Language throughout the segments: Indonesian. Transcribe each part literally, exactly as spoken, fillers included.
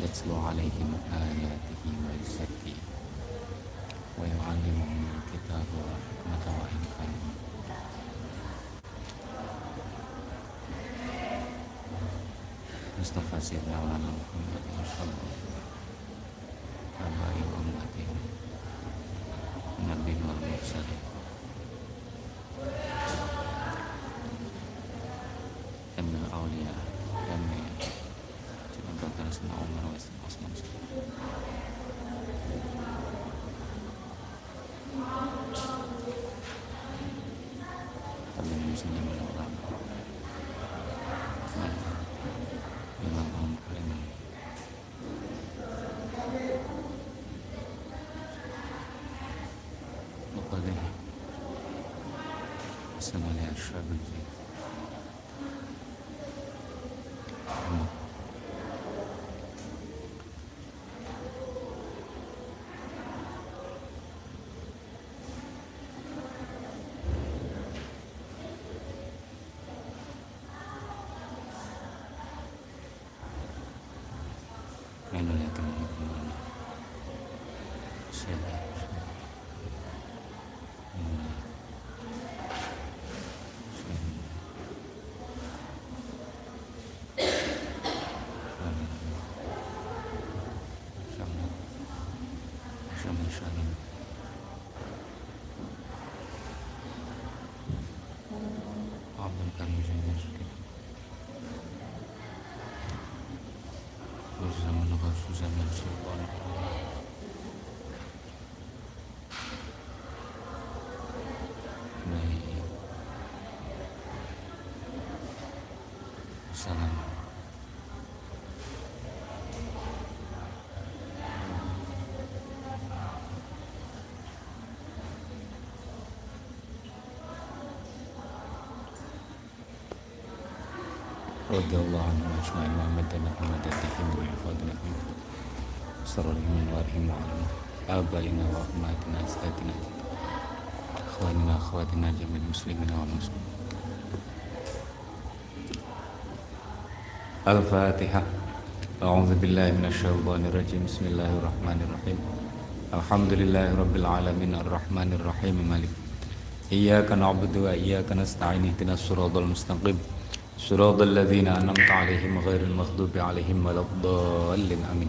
يتلو عليهم آياته ويزكيهم ويعلمهم الكتاب والحكمة وإن كانوا Mustafa Sirna Muhammad Sallallahu Alaihi Wasallam Nabi wal Mursalin Emil Aulia Emil Cuma bakal semua Umar Osman Tapi musuhnya menolak Memang orang paling وقاله السلام على أشرف الجيل Salam. Radhiyallahu anhu ajma'in wa amadana wa madatihim wa hifadana min sarrihim wa arhim wa alam abaina wa ahmatina astatina akhwanina akhwatina jamil muslimina wal muslimin. Al-Fatihah. A'udzu billahi minasyaitonir rajim. Bismillahirrahmanirrahim. Alhamdulillahi rabbil alamin arrahmanir rahim malik. Iyyaka na'budu wa iyyaka nasta'in ihdinas siratal mustaqim. Siratal ladzina an'amta 'alaihim ghairil maghdubi 'alaihim waladdallin. Amin.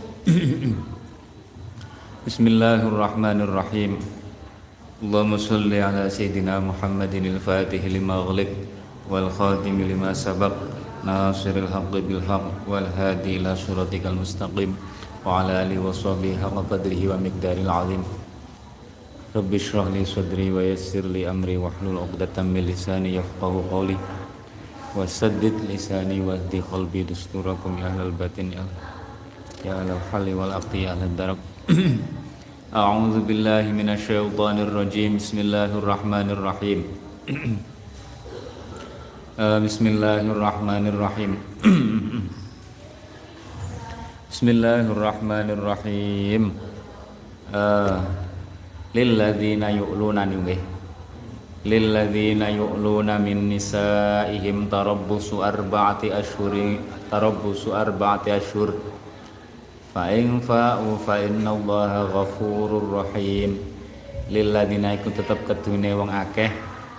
Bismillahirrahmanirrahim. Allahumma shalli ala sayyidina Muhammadin al-Fatih lima ughliq wal khatim lima sabaq. Nasiril haqqi bil haqq wal hadi ila siratikal mustaqim wa ala alihi wa sahbihi haqqa qadrihi wa miqdaril azim. Rabbi shrah li sadri wa yassir li amri wahlul 'uqdatam min lisani yafqahu qawli wa saddid lisani wa hdi qalbi dusturakum ya ahlal batin ya ya ahlal halli wal aqti ya ahlad darak. A'udzu billahi minasy syaithanir rajim. Bismillahirrahmanirrahim. Uh, Bismillahirrahmanirrahim. Bismillahirrahmanirrahim. Uh, Lilladzina yu'luna ningih. Lilladzina yu'luna min nisaihim tarabbusu arba'ati ashhurin tarabbusu arba'ati ashhur. Fa in fa'u fa innallaha ghafurur rahim. Lilladzina iku tetep kedune wong akeh.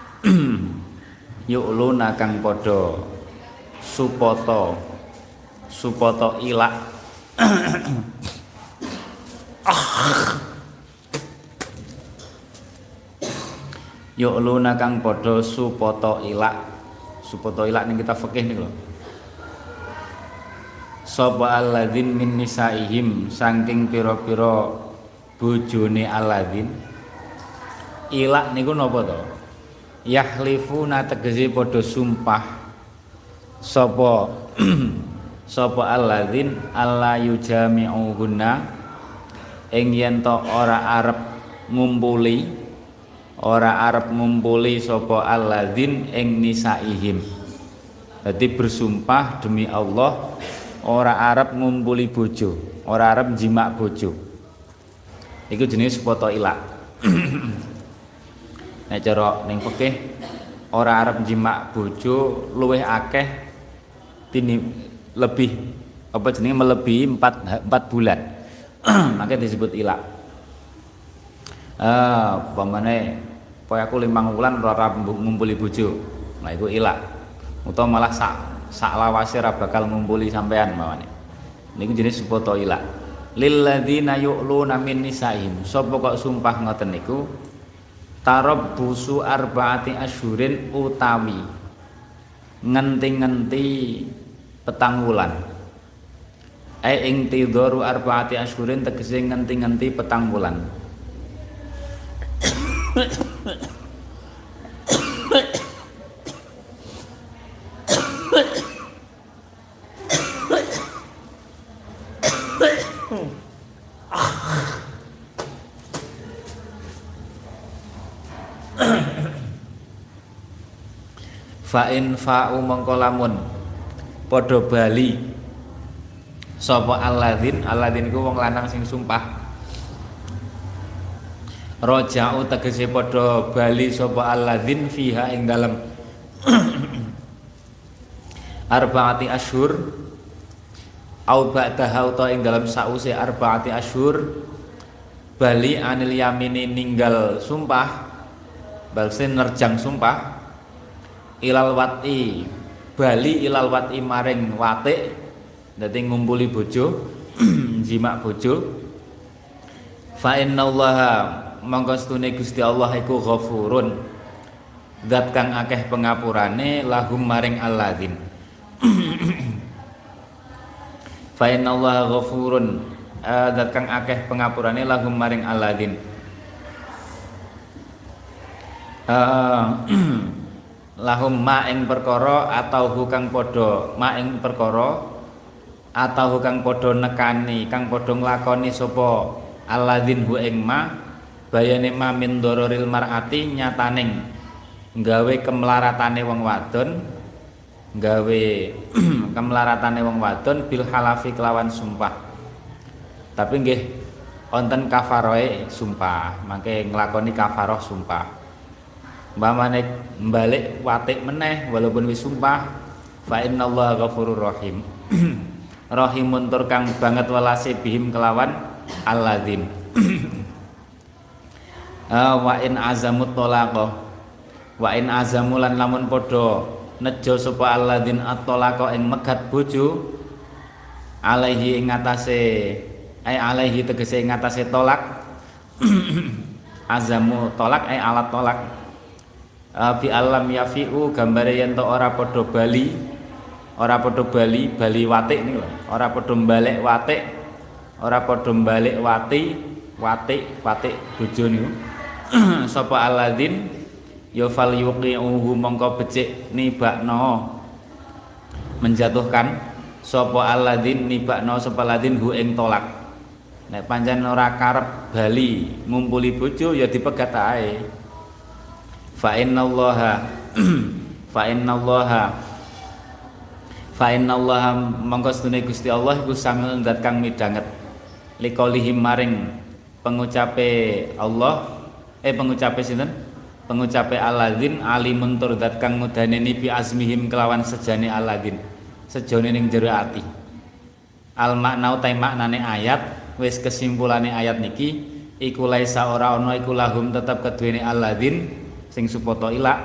Yu'luna kang padha supoto supoto ilak Yu'luna kang padha supoto ilak supoto ilak ning kita fikih niku lho. Sapa alladzin min nisaihim saking pira-pira bojone alladzin ilak niku napa to? Yahlifuna tegese padha sumpah sapa sapa alladzin alla yujami'uhunna ing yen to ora arep ngumpuli ora arep ngumpuli sapa alladzin ing nisaihim. Dadi bersumpah demi Allah ora arep ngumpuli bojo, ora arep jimak bojo. Iku jenis foto ilak. Nek cara ning fikih ora arep jimak bojo luwih akeh tini lebih apa jenenge melebihi empat empat bulan. Makanya disebut ilak. Eh, umpamane pokoke aku limang wulan ora ngumpuli bojo. Nah iku ilak. Utawa malah sak sak lawase ora bakal ngumpuli sampean mawane. Niku jenis sepoto ilak. Lil ladzina yu'luna min nisaihim. Sapa kok sumpah ngoten niku tarabbusu arbaati asyhurin utawi ngenti-ngenti petang wulan. Ai ing tidharu arbaati asyhurin tegese ngenti-ngenti petang wulan. Fa in fa'u mongko lamun padha bali sapa alladzin alladzin iku wong lanang sing sumpah raja'u tegese padha bali sapa alladzin fiha ing dalem arbaati asyhur au ba'daha utawa ing dalem sause arbaati asyhur bali anil yamini ninggal sumpah balse nerjang sumpah ilal wati bali ilal wati maring watik dadi ngumpuli bojo jimak bojo fa innallaha mongko stune Gusti Allah iku ghafurun zat kang akeh pengapurane lahum maring alladzin fa innallaha ghafurun zat kang akeh pengapurane lahum maring alladzin uh, lahum ma ing perkara atau hukang padha ma ing perkara atau hukang padha nekani kang padha nglakoni sapa alladzin hu ing ma bayane ma min dororil mar'ati nyataning nggawe kemlaratane wong wadon nggawe kemlaratane wong wadon bil halafi kelawan sumpah tapi nggih wonten kafaroe sumpah mangke nglakoni kafaroh sumpah mbamane mbalik watik meneh walaupun wis sumpah fa innallaha ghafurur rahim rahimun tur kang banget welase bihim kelawan alladzin wa in azamut talaqa wa in azamulan lamun padha nejo sapa alladzin at-talaqa ing megat bojo alaihi ing ngatasé ai alaihi tegese ing ngatasé tolak azamu tolak ai alat tolak bi alam yafi'u gambare yen to ora padha bali ora padha bali bali watik niku lho ora padha mbalik watik ora padha mbalik wati watik watik bojo niku sapa alladzin ya fal yuqi'uhu mongko becik nibakno menjatuhkan sapa alladzin nibakno sapa alladzin hu ing tolak nek pancen ora karep bali ngumpuli bojo ya dipegat ae fa innallaha fa innallaha fa innallaha mongko sedune Gusti Allah iku samiun zat kang midhanget liqaulihi maring pengucape Allah eh pengucape sinten pengucape alladzin alimun tur zat kang ngudaneni bi azmihim kelawan sejane alladzin sejane ning jero ati al makna utai maknane ayat wis kesimpulane ayat niki iku laisa ora ana iku lahum tetep keduwene alladzin sing supoto ilak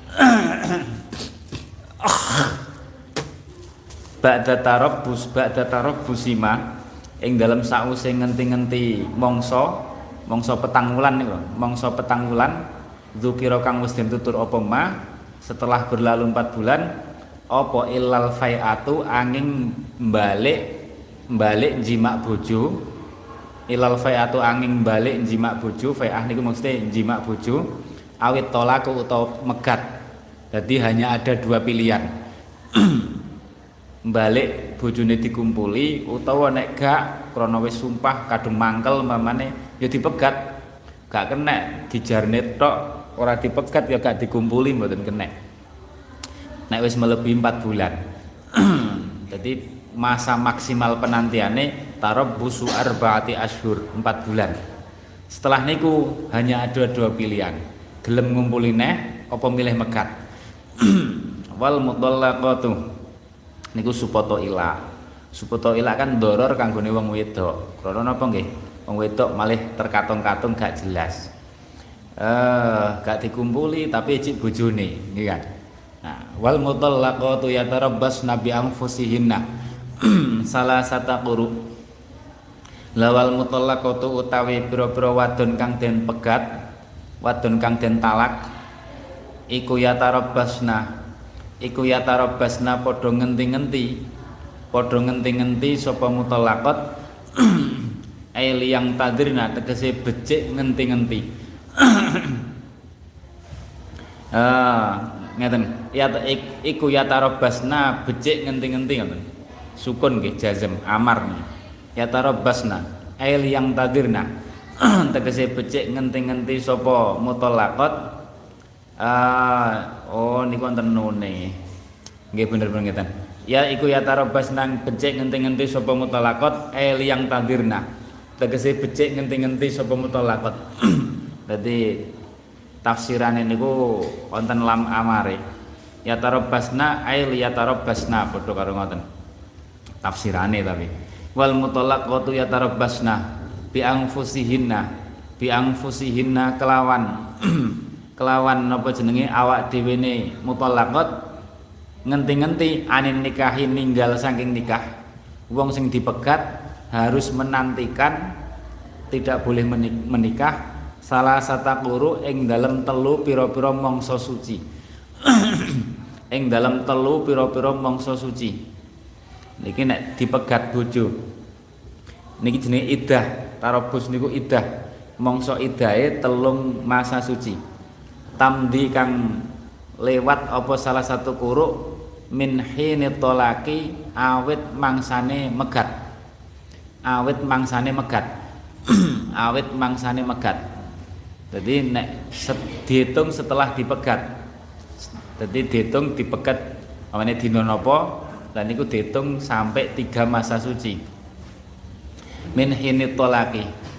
ba'da tarabbus ba'da tarabbusima ing dalam sause ngenti-ngenti mangsa mangsa petang wulan niku mangsa petang wulan dzukira kang wis den tutur apa ma setelah berlalu empat bulan apa illal fai'atu angin balik balik jimak bojo ilal fai'atu angin balik jimak bojo fai'ah niku maksudnya jimak bojo awit tolaku atau megat jadi hanya ada dua pilihan balik bojone dikumpuli utawa nek gak krana wis sumpah kadung mangkel mamane ya dipegat gak kena dijarne tok ora dipegat ya gak dikumpuli mboten kena nek wis melebihi empat bulan jadi masa maksimal penantiane tarabbusu arbaati asyhur empat bulan setelah niku hanya ada dua pilihan gelem ngumpuli neh apa milih megat wal mudallaqatu niku supoto ila Supoto ilak kan doror kanggone wong wedok. Krana napa nggih? Wong wedok malih terkatung-katung gak jelas. Eh, gak dikumpuli tapi cik bojone, nggih kan. Nah, wal mutallaqatu yatarabbasna bi anfusihinna. Salah sata quru. Lawal mutallaqatu utawi pira-pira wadon kang den pegat, wadon kang den talak, iku yatarabbasna. Iku yatarabbasna padha ngenti-ngenti. Padha ngenti-ngenti sapa mutallaqat ai liyang tadirna tegese becik ngenti-ngenti. Ah, ngeten. Ya iku yatarabbasna becik ngenti-ngenti ngoten. Sukun nggih jazm amar nih. Yatarabbasna ai liyang tadirna tegese becik ngenti-ngenti sapa mutallaqat. Ah, oh niku wonten nune. Nggih bener-bener ngeten. Ya iku yatarabbasna becik ngenti-ngenti sapa mutallaqat ai liyang tadirna tegese becik ngenti-ngenti sapa mutallaqat. Dadi tafsirane niku wonten lam amare. Yatarabbasna ai liyatarabbasna padha karo ngoten. Tafsirane tapi wal mutallaqatu yatarabbasna bi anfusihinna bi anfusihinna kelawan kelawan napa jenenge awak dhewe ne mutallaqat ngenti-ngenti anin nikahi ninggal saking nikah. Wong sing dipegat harus menantikan tidak boleh menikah salah sata quru ing dalem telu pira-pira mangsa suci. Ing dalem telu pira-pira mangsa suci. Niki nek dipegat bojo. Niki jenenge iddah, tarabus niku iddah. Mangsa iddahe telung masa suci. Tamdi kang lewat apa salah satu quru min hini tolaki awit mangsane megat. Awit mangsane megat. Awit mangsane megat. Jadi nek set, dihitung setelah dipegat. Jadi dihitung dipegat amane dina napa lan niku dihitung sampai tiga masa suci. Min hini tolaki.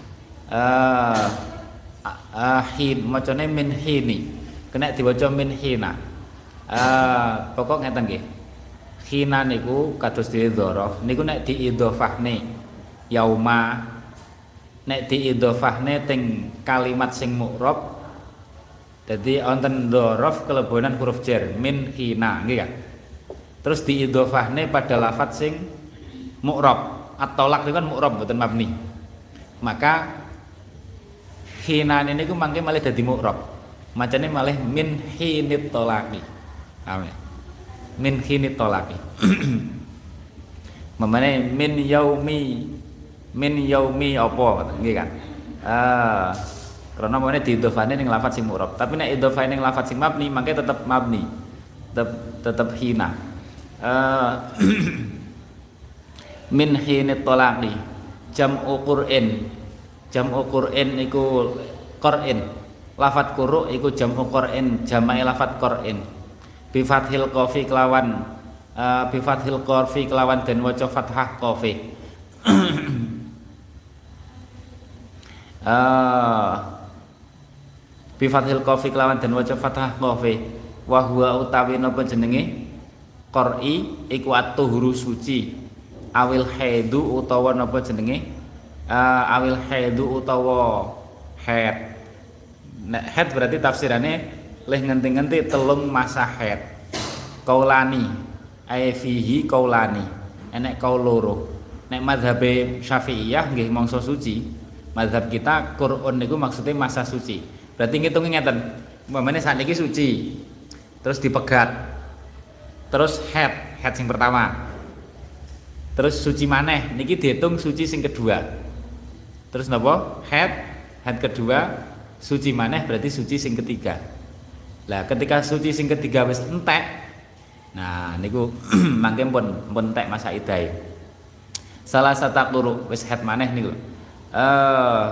Eh uh, hin macane min hini. Kena diwaca min hina. Eh pokok ngeten nggih. Hina niku kados dhewe dzaraf. Niku nek diidhofahne yauma nek diidhofahne teng kalimat sing mu'rab dadi wonten dzaraf kelebonan huruf jar min hina nggih kan. Terus diidhofahne pada lafadz sing mu'rab. At-tolak niku kan mu'rab mboten mabni. Maka hina niku mangke malih dadi mu'rab. Macane malih min hinit tolaki. Amin. Min hinit tolaki. Mamane min yaumi min yaumi apa nggih kan. Ah, karena mene diidhofane ning lafadz sing mu'rab. Tapi nek idhofane ning lafadz sing mabni mangke tetep mabni. Tetep tetep hina. Uh, min hinit tolaki jam'u Qur'in. Jam'u Qur'in iku Qur'in. Lafadz quru iku jam'u Qur'in, jamae lafadz Qur'in. Bi fathil qafi kelawan uh, bi fathil qafi kelawan den waca fathah qafi. Uh, bi fathil qafi kelawan den waca fathah qafi. Wa huwa utawi napa jenenge qur'i iku at-tuhuru suci. Awil haidu utawa napa jenenge uh, awil haidu utawa haid. Nek haid berarti tafsirannya leh ngenti-ngenti telung masa haid. Kaulani ai fihi kaulani. Enek kaul loro. Nek mazhabe Syafi'iyah nggih mangsa suci. Mazhab kita Qur'an niku maksudnya masa suci. Berarti ngitung ngeten. Umpamane sakniki suci. Terus dipegat. Terus haid, haid sing pertama. Terus suci maneh niki dihitung suci sing kedua. Terus napa? Haid, haid kedua, suci maneh berarti suci sing ketiga. Lah ketika suci sing ketiga wis entek. Nah niku mangke pun pun entek masa iddah. Salah satu quru wis haid maneh niku. Eh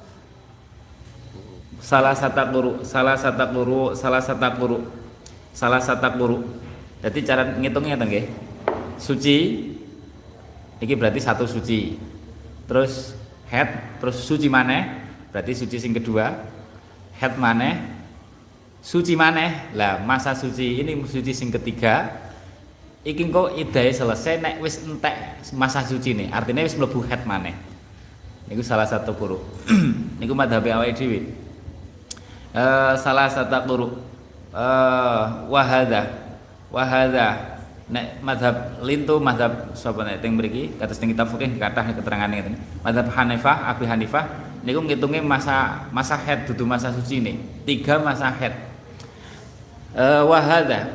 salah satu quru, salah satu quru, salah satu quru. Salah satu quru. Jadi cara ngitungnya ngeten nggih. Suci iki berarti satu suci. Terus haid, terus suci maneh berarti suci sing kedua. Haid maneh, suci maneh. Lah masa suci ini suci sing ketiga iki engko idahe selesai nek wis entek masa sucine, artinya wis mlebu haid maneh. Niku salah satu quru. Niku madhabe awake dhewe. Eh salah satu quru. Eh wa hadza wa hadza nek madhab lintu madhab sapa nek teng mriki kados teng kitab fikih kathah keterangane ngeten. Madhab Hanifah, Abi Hanifah niku ngitunge masa masa haid dudu masa sucine. Tiga masa haid. Eh wa hadza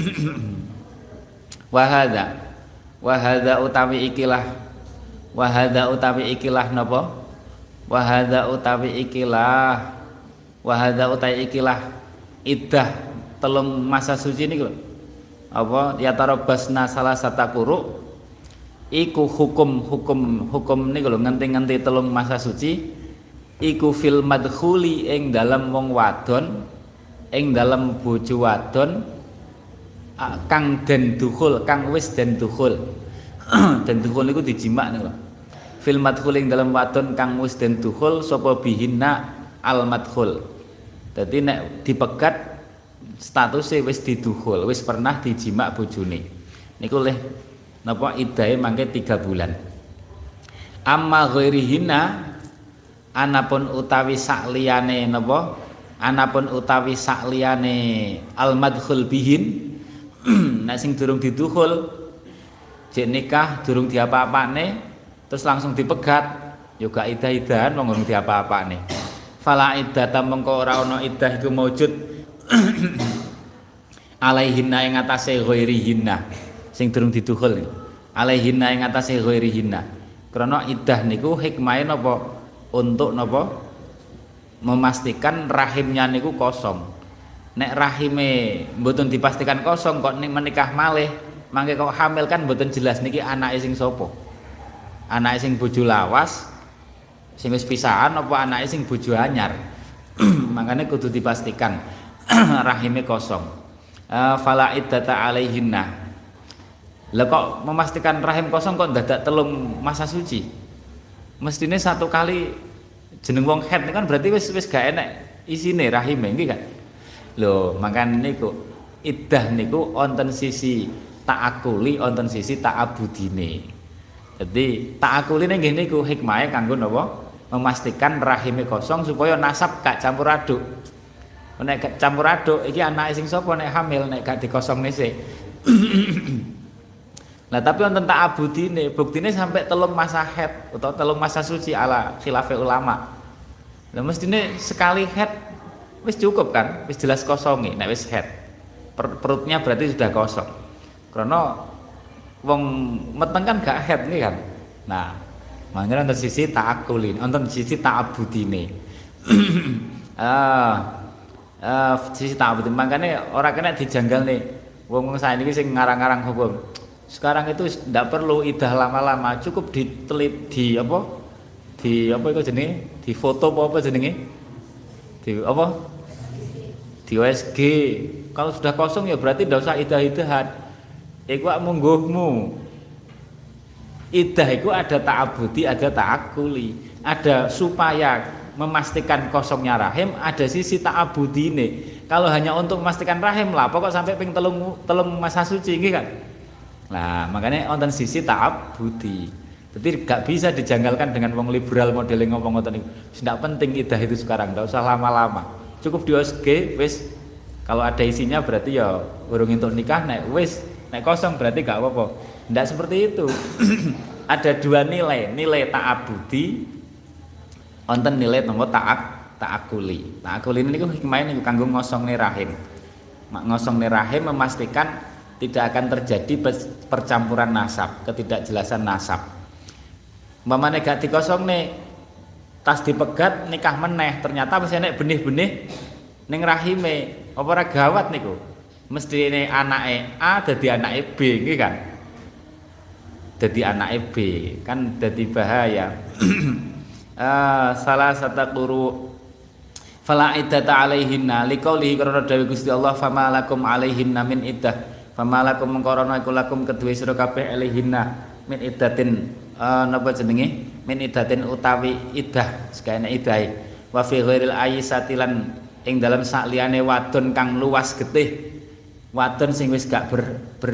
wahada wahada utawi ikilah wahada utawi ikilah napa wahada utawi ikilah wahada utawi ikilah iddah telung masa suci niku apa ya tarabasna salah sata quru iku hukum hukum hukum niku lho ngenti-ngenti telung masa suci iku fil madkhuli ing dalem wong wadon ing dalem bojo wadon kang den dukhul kang wis den dukhul den dukhul niku dijimak niku lho fil madkhul ing dalam wadon kang wis den dukhul sapa bihinna al madkhul dadi nek dipegat statuse wis didukhul wis pernah dijimak bojone niku leh napa iddahe mangke tiga bulan amma ghairihinna anapun utawi sakliyane napa anapun utawi sakliyane al madkhul bihin nek sing durung didukhul jek nikah durung diapa-apane terus langsung dipegat yo gak idah-idahan wong durung diapa-apane fala iddata mengko ora ana iddah iku maujud alaihinna ing atase ghairihinna sing durung didukhul alaihinna ing atase ghairihinna krana iddah niku hikmahe napa untuk napa memastikan rahimnya niku kosong. Nek rahime mboten dipastikan kosong kok menikah malih mangke kok hamil kan mboten jelas niki anake sing sapa anake sing bojo lawas sing wis pisahan apa anake sing bojo anyar makanya kudu dipastikan rahime kosong uh, fala iddata alaihinna lah kok memastikan rahim kosong kok dadak telung masa suci mestine satu kali jeneng wong haid kan berarti wis wis gak enek isine rahime nggih kan. Lho, makane niku iddah niku wonten sisi ta'akuli, wonten sisi ta'abudine. Jadi ta'akuline nggih niku hikmahe kanggo napa? Memastikan rahime kosong supaya nasab gak campur aduk. Nek gak campur aduk iki anake sing sapa nek hamil nek gak dikosongne sik. Nah, tapi wonten ta'abudine, buktine sampai telung masa haid utawa telung masa suci ala khilafe ulama. Lah mestine sekali haid wis cukup kan, wis jelas kosongi, nek wis haid. Per, perutnya berarti sudah kosong. Karena wong meteng kan gak haid nih kan. Nah, makanya untuk sisi ta'akulin, untuk sisi ta'abudine. ah, ah, sisi ta'abudine. Makanya orang kena dijanggal nih. Wong-wong saya ini sing ngarang-ngarang hukum. Sekarang itu tidak perlu idah lama-lama, cukup ditelit di apa? Di apa itu jenenge? Di foto apa apa jenenge? Di apa? Di O S G. Kalau sudah kosong ya berarti tidak usah idah-idahan. Iku mungguhmu. Idah itu ada ta'abudi, ada ta'akuli, ada supaya memastikan kosongnya rahim, ada sisi ta'abudine. Kalau hanya untuk memastikan rahim lah, pokok sampai ping telung telung masa suci gitu kan. Nah, makanya wonten sisi ta'abudi. Jadi gak bisa dijanggalkan dengan wong liberal modeling ngomong ngoten niku. Tidak penting idah itu sekarang, tidak usah lama-lama. Cukup di O S G wis kalau ada isinya berarti ya urung entuk nikah nek wis nek kosong berarti gak apa-apa. Ndak seperti itu. Ada dua nilai, nilai ta'abudi wonten nilai nomor ta'ak ta'akuli. Ta'akuli niku hikmahe niku kanggo ngosongne rahim. Mak ngosongne rahim memastikan tidak akan terjadi percampuran nasab, ketidakjelasan nasab. Umpamane gak dikosongne tas dipegat nikah meneh ternyata wis enek benih-benih ning rahime apa ora gawat niku mestine anake A dadi anake B nggih kan dadi anake B kan dadi bahaya. ah, salah satu guru fala iddata alaihinna liqaulihi karena dawuh Gusti Allah fama lakum alaihinna min iddah fama lakum mengkorono iku lakum kedue sira kabeh alaihinna min iddatin uh, napa jenenge min iddatin utawi iddah sekene idahe wa fi ghairil ayyisatilan ing dalam sakliyane wadon kang luas getih wadon sing wis gak ber, ber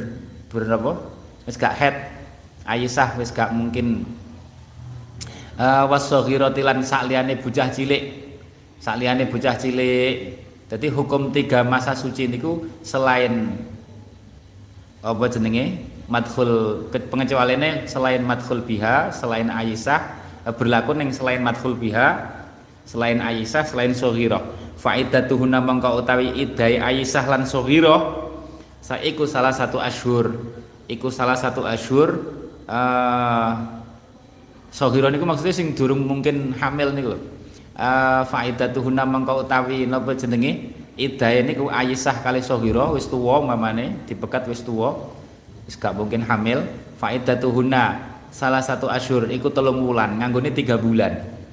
berapa? Wis gak head. Aisyah wis gak mungkin uh, wasaghirati lan sakliyane bocah cilik. Sakliyane bocah cilik. Jadi hukum tiga masa suci niku selain apa jenenge? Madkhul pengecualiannya selain madkhul biha, selain Aisyah berlaku ning selain madkhul biha, selain Aisyah, selain saghirah. Faidatuhunna mangka utawi idai Aisyah lan saghirah saiku salah satu asyhur. Iku salah satu asyhur uh, saghirah niku maksudnya sing durung mungkin hamil niku lho. Uh, faidatuhunna mangka utawi napa jenenge idai niku Aisyah kali saghirah wis tuwa mamane dipekat wis tuwa wis gak mungkin hamil. Faidatuhunna salah satu asyhur iku telung wulan nganggone tiga bulan.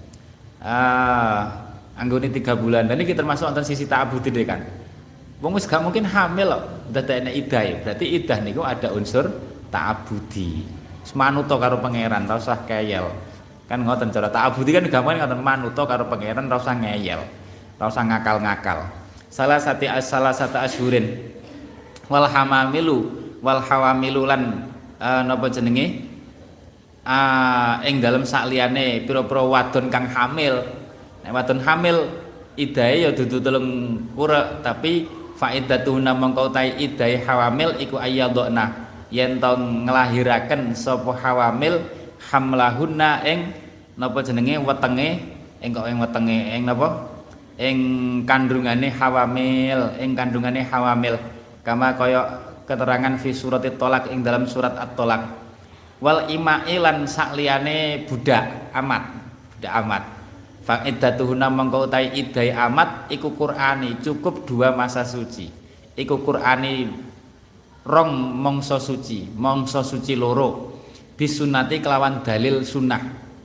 Ah, nganggone tiga bulan. Dan iki termasuk wonten sisi ta'abbudi deh kan. Wong wis gak mungkin hamil kok dadekne idah. Berarti idah niku ada unsur ta'abbudi. Wis manuta karo pangeran, ora usah keyel. Kan ngoten cara ta'abbudi kan gampang ngoten manuta karo pangeran, ora usah ngeyel. Ora usah ngakal-ngakal. Salah satu salah satu asyhurin wal hamamilu wal hawamilu lan uh, napa jenenge? Ah, ing dalem sakliyane pira-pira wadon kang hamil. Nek wadon hamil idahe ya dudu telung kurek, tapi faidatuhunna mangka utahe idahe hawamil iku ayyadna yen to nglahiraken sapa hawamil hamlahunna ing napa jenenge wetenge ing kok ing wetenge ing napa ing kandungane hawamil ing kandungane hawamil kama kaya keterangan fi suratit tolak ing dalam surat at-tolak. Wal imai lan sakliyane budak amat budak amat fa iddatuhunna mangka utahe idai amat iku Qur'ani cukup dua masa suci iku Qur'ani rong mangsa suci mangsa suci loro bisunati kelawan dalil sunnah.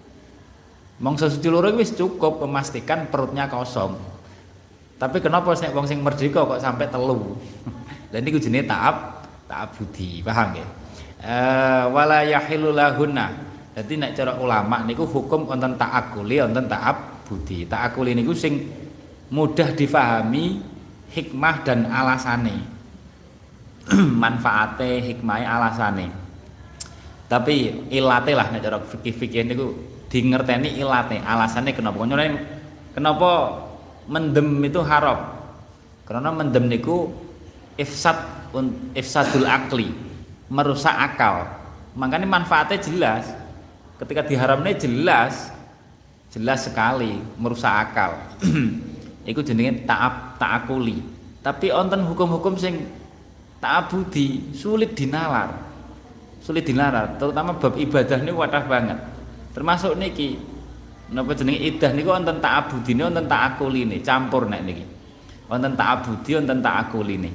Mangsa suci loro wis cukup memastikan perutnya kosong. Tapi kenapa nek wong sing merdeka kok sampai telu? Lah niku jenenge ta'ab ta'abbudi, paham nggih? Uh, wala yahilu lahunna. Dadi nek cara ulama niku hukum wonten ta'akuli wonten ta'abbudi. Ta'akuli niku sing mudah difahami hikmah dan alasane. Manfaate, hikmahe, alasane. Tapi ilate lah nek cara fikih-fikih niku dingerteni ilate, alasane kenapa. Kenapa mendem itu haram? Karena mendem niku ifsad ifsadul akli. Merusak akal. Makanya manfaatnya jelas. Ketika diharamnya jelas, jelas sekali merusak akal. Iku jenenge ta'ab ta'akuli. Tapi wonten hukum-hukum sing ta'abbudi sulit dinalar. Sulit dinalar, terutama bab ibadah niku wadah banget. Termasuk niki napa jenenge idah niku wonten ta'abbudine wonten ta'akuline, campur nek niki. Wonten ta'abbudi wonten ta'akuline.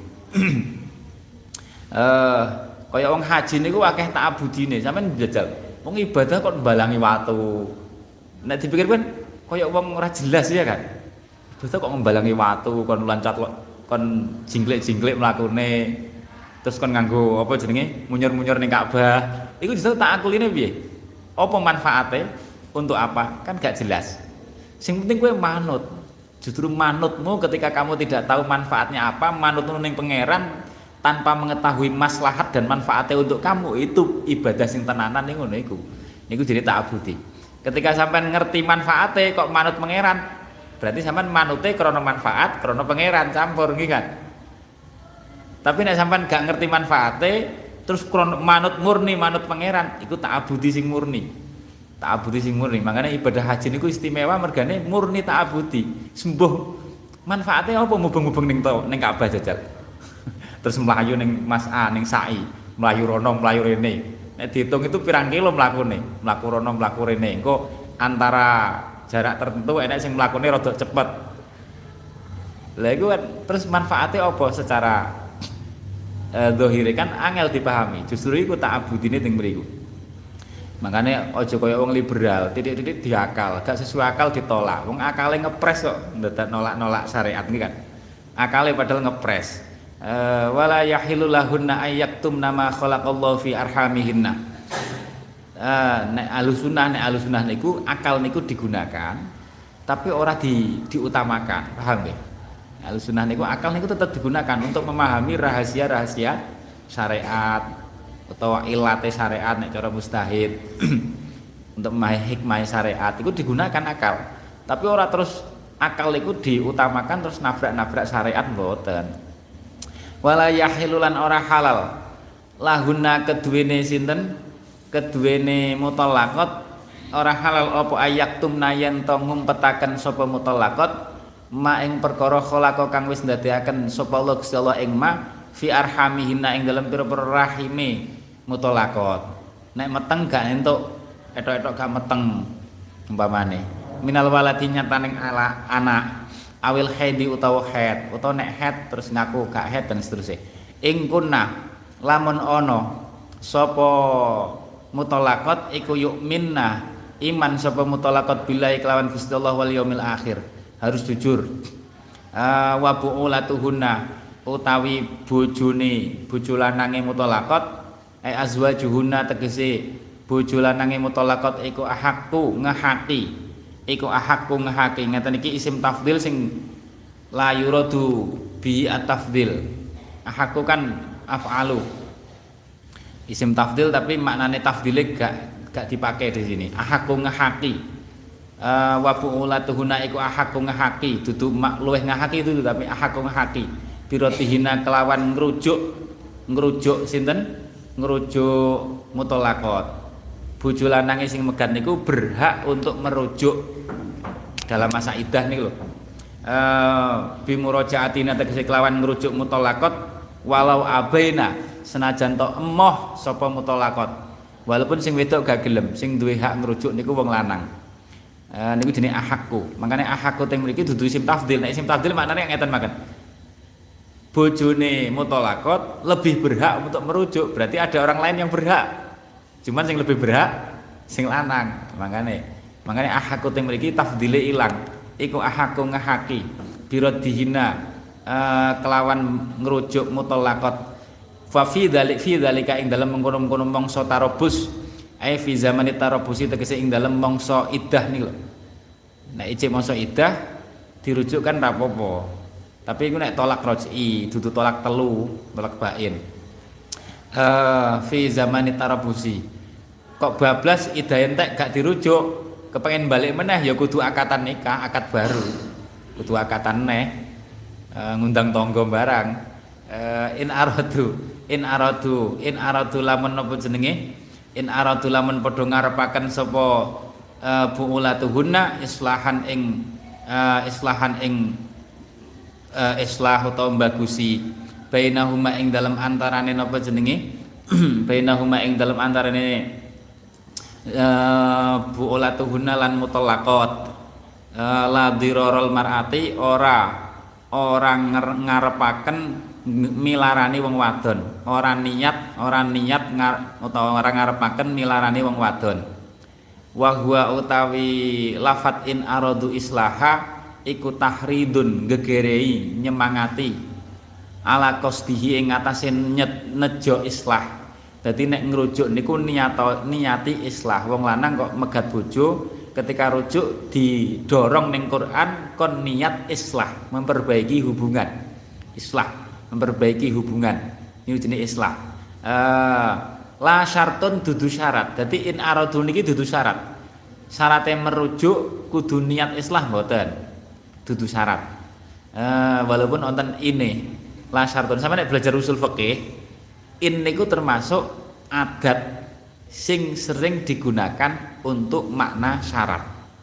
Eh kaya wong haji niku akeh ta'abbudine, sampean njajal. Wong ibadah kok mbalangi watu. Nek dipikir kan kaya wong ora jelas ya kan. Ibadah kok mbalangi watu, kon loncat kon jingklik-jingklik mlakune. Terus kon nganggo apa jenenge? Munyur-munyur ning Ka'bah. Iku justru ta'akuline piye? Apa manfaate? Untuk apa? Kan gak jelas. Sing penting kowe manut. Justru manutmu ketika kamu tidak tahu manfaatnya apa, manutmu ning pangeran tanpa mengetahui maslahat dan manfaatnya untuk kamu, itu ibadah sing tenanan ning ngono iku. Niku jenenge ta'abbudi. Ketika sampean ngerti manfaatnya kok manut pangeran, berarti sampean manute krana manfaat, krana pangeran campur nggih kan. Tapi nek sampean gak ngerti manfaatnya terus krana manut murni manut pangeran, iku ta'abbudi sing murni. Ta'abbudi sing murni. Makanya ibadah haji niku istimewa mergane murni ta'abbudi. Sembuh manfaatnya apa mubeng-mubeng ning ning Ka'bah jajal. Terus melayu ning Mas A ning Sa'i, melayu rono melayu rene. Nek dihitung itu pirang kilo mlakune, mlaku rono mlaku rene. Engko antara jarak tertentu enek sing mlakune rada cepet. Lah iku kan terus manfaatnya apa secara eh, zahire kan angel dipahami. Justru iku ta'abbudine teng mriku. Makanya aja kaya wong liberal, titik-titik diakal, gak sesuai akal ditolak. Wong akale ngepres kok ndak nolak-nolak syariat iki kan. Akale padahal ngepres. Uh, wala yahilu lahunna ayyaktum nama khalaqallahu fi arhamihinna. Uh, nek alusunah nek alusunah niku akal niku digunakan tapi ora di diutamakan, paham nggih? Alusunah niku akal niku tetap digunakan untuk memahami rahasia-rahasia syariat, utawa ilate syariat nek cara mustahid untuk memahami hikmah syariat itu digunakan akal. Tapi ora terus akal itu diutamakan terus nabrak-nabrak syariat mboten. Wala yahilulan ora halal lahuna keduwene sinten keduwene mutallaqat ora halal apa ayak tumna yen to ngumpetaken sapa mutallaqat ma ing perkara khalaqa kang wis ndadeaken sapa Allah Gusti Allah ing ma fi arhamihina ing dalem pira-pira rahime mutallaqat. Nek meteng gak entuk etok-etok gak meteng umpamane minal waladi nyataning ala anak awil haidi utawa haid utawa nek haid terus ngaku gak haid dan seterusnya. Ing kunna lamun ono sapa mutallaqat iku yu'minna iman sapa mutallaqat billahi kelawan Gusti Allah wal yaumil akhir, harus jujur. Uh, wa bu'ulatuhunna utawi bojone bojo lanange mutallaqat ai azwajuhunna tegese bojo lanange mutallaqat iku ahaqu ngahaqi iku ahaqu ngahaqi ngeten iki isim tafdhil sing la yuradu bi at-tafdhil. Ahaqu kan af'alu isim tafdil tapi maknane tafdile gak gak dipakai di sini. Ahaqu ngahaqi uh, wa bu'ulatuhunna iku ahaqu ngahaqi dudu mak luweh ngahaqi itu tapi ahaqu ngahaqi birotihina kelawan ngrujuk ngrujuk sinten ngrujuk mutallaqat. Bojo lanange sing megat niku berhak untuk merujuk dalam masa iddah niku lho. Eh bi murajaatina tegese kelawan ngrujuk mutallaqat walau abaina senajan to emoh sapa mutallaqat. Walaupun sing wedok gak gelem, sing duwe hak ngrujuk niku wong lanang. Eh niku jenenge ahakku. Makane ahakku teng mriki dudu isim tafdhil. Nek isim tafdhil maknane ngeten makaten. Bojone mutallaqat lebih berhak untuk merujuk, berarti ada orang lain yang berhak. Cuman sing lebih berhak sing lanang. Makane makane ahakku teng mriki tafdhile ilang. Iku ahakku ngahaki birodihina Uh, kelawan ngerujuk mutallaqat fa fi dzalik fi dzalika ing dalem mengkono-mengkono mangsa tarabus ai fi zamani tarabusi tegese ing dalem mangsa iddah niku lho. Nek ijek mangsa iddah dirujuk kan ra apa-apa. Tapi iku nek tolak raj'i dudu tolak telu, tolak bain. Uh, fi zamani tarabusi. Kok bablas iddah entek gak dirujuk, kepengin balik meneh ya kudu akatan nikah, akad baru. Kudu akatan neh. Uh, ngundang tonggo barang uh, in aradu in aradu in aradu lamun napa jenenge in aradu lamun padha ngarepaken sapa uh, buulatuhunna islahan ing uh, islahan ing uh, islah utawa bagusi bainahuma ing dalam antarane napa jenenge bainahuma ing dalam antarane uh, buulatuhunna lan mutallaqat uh, la dirarul mar'ati ora orang ngarepaken milarani wong wadon, orang niat, orang niat ngar, utawa orang ngarepaken milarani wong wadon. Wa huwa utawi lafat in aradu islaha iku tahridun gegerei nyemangati ala qasdihi ing atase nejo islah. Dadi nek ngrujuk niku niato niati islah. Wong lanang kok megat bojo ketika rujuk didorong ning Quran kon niat islah, memperbaiki hubungan. Islah, memperbaiki hubungan. Ini jenis islah. Uh, la syartun dudu syarat. Jadi in aradu niki dudu syarat. Syaratnya merujuk kudu niat islah mboten. Dudu syarat. Uh, walaupun wonten ini la syartun. Sampe nek belajar usul fikih, in niku termasuk adat sing sering digunakan untuk makna syarat.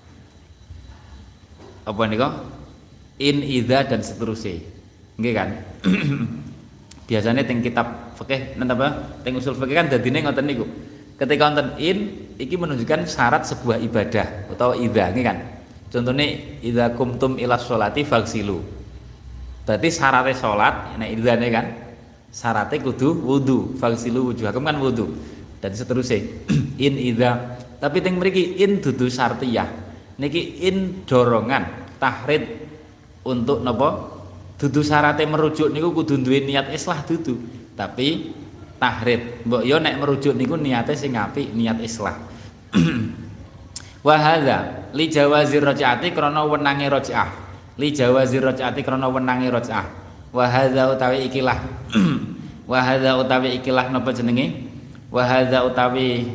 Apa niku? In, idza dan seterusnya. Nggih kan? Biasanya teng kitab fikih nenten apa? Teng usul fikih kan dadine ngoten niku. Ketika wonten in iki menunjukkan syarat sebuah ibadah utawa idza, nggih kan? Contohnya idza kumtum ila sholati faghsilu. Berarti syaratnya salat, nek idzane kan syaratnya kudu wudu, faghsilu wujuhakum kan wudu. Dan seterusnya in idza tapi teng mriki in dudu syartiyah niki in dorongan tahrid untuk napa dudu syaratnya merujuk niku kudu duwe niat islah dudu tapi tahrid mbok yo nek merujuk niku niate sing apik niat islah. Wa hadza li jawazir raj'ati krana wenange raj'ah li jawazir raj'ati krana wenange raj'ah wa hadza utawi ikilah wa hadza utawi ikilah napa jenenge wa hadza utawi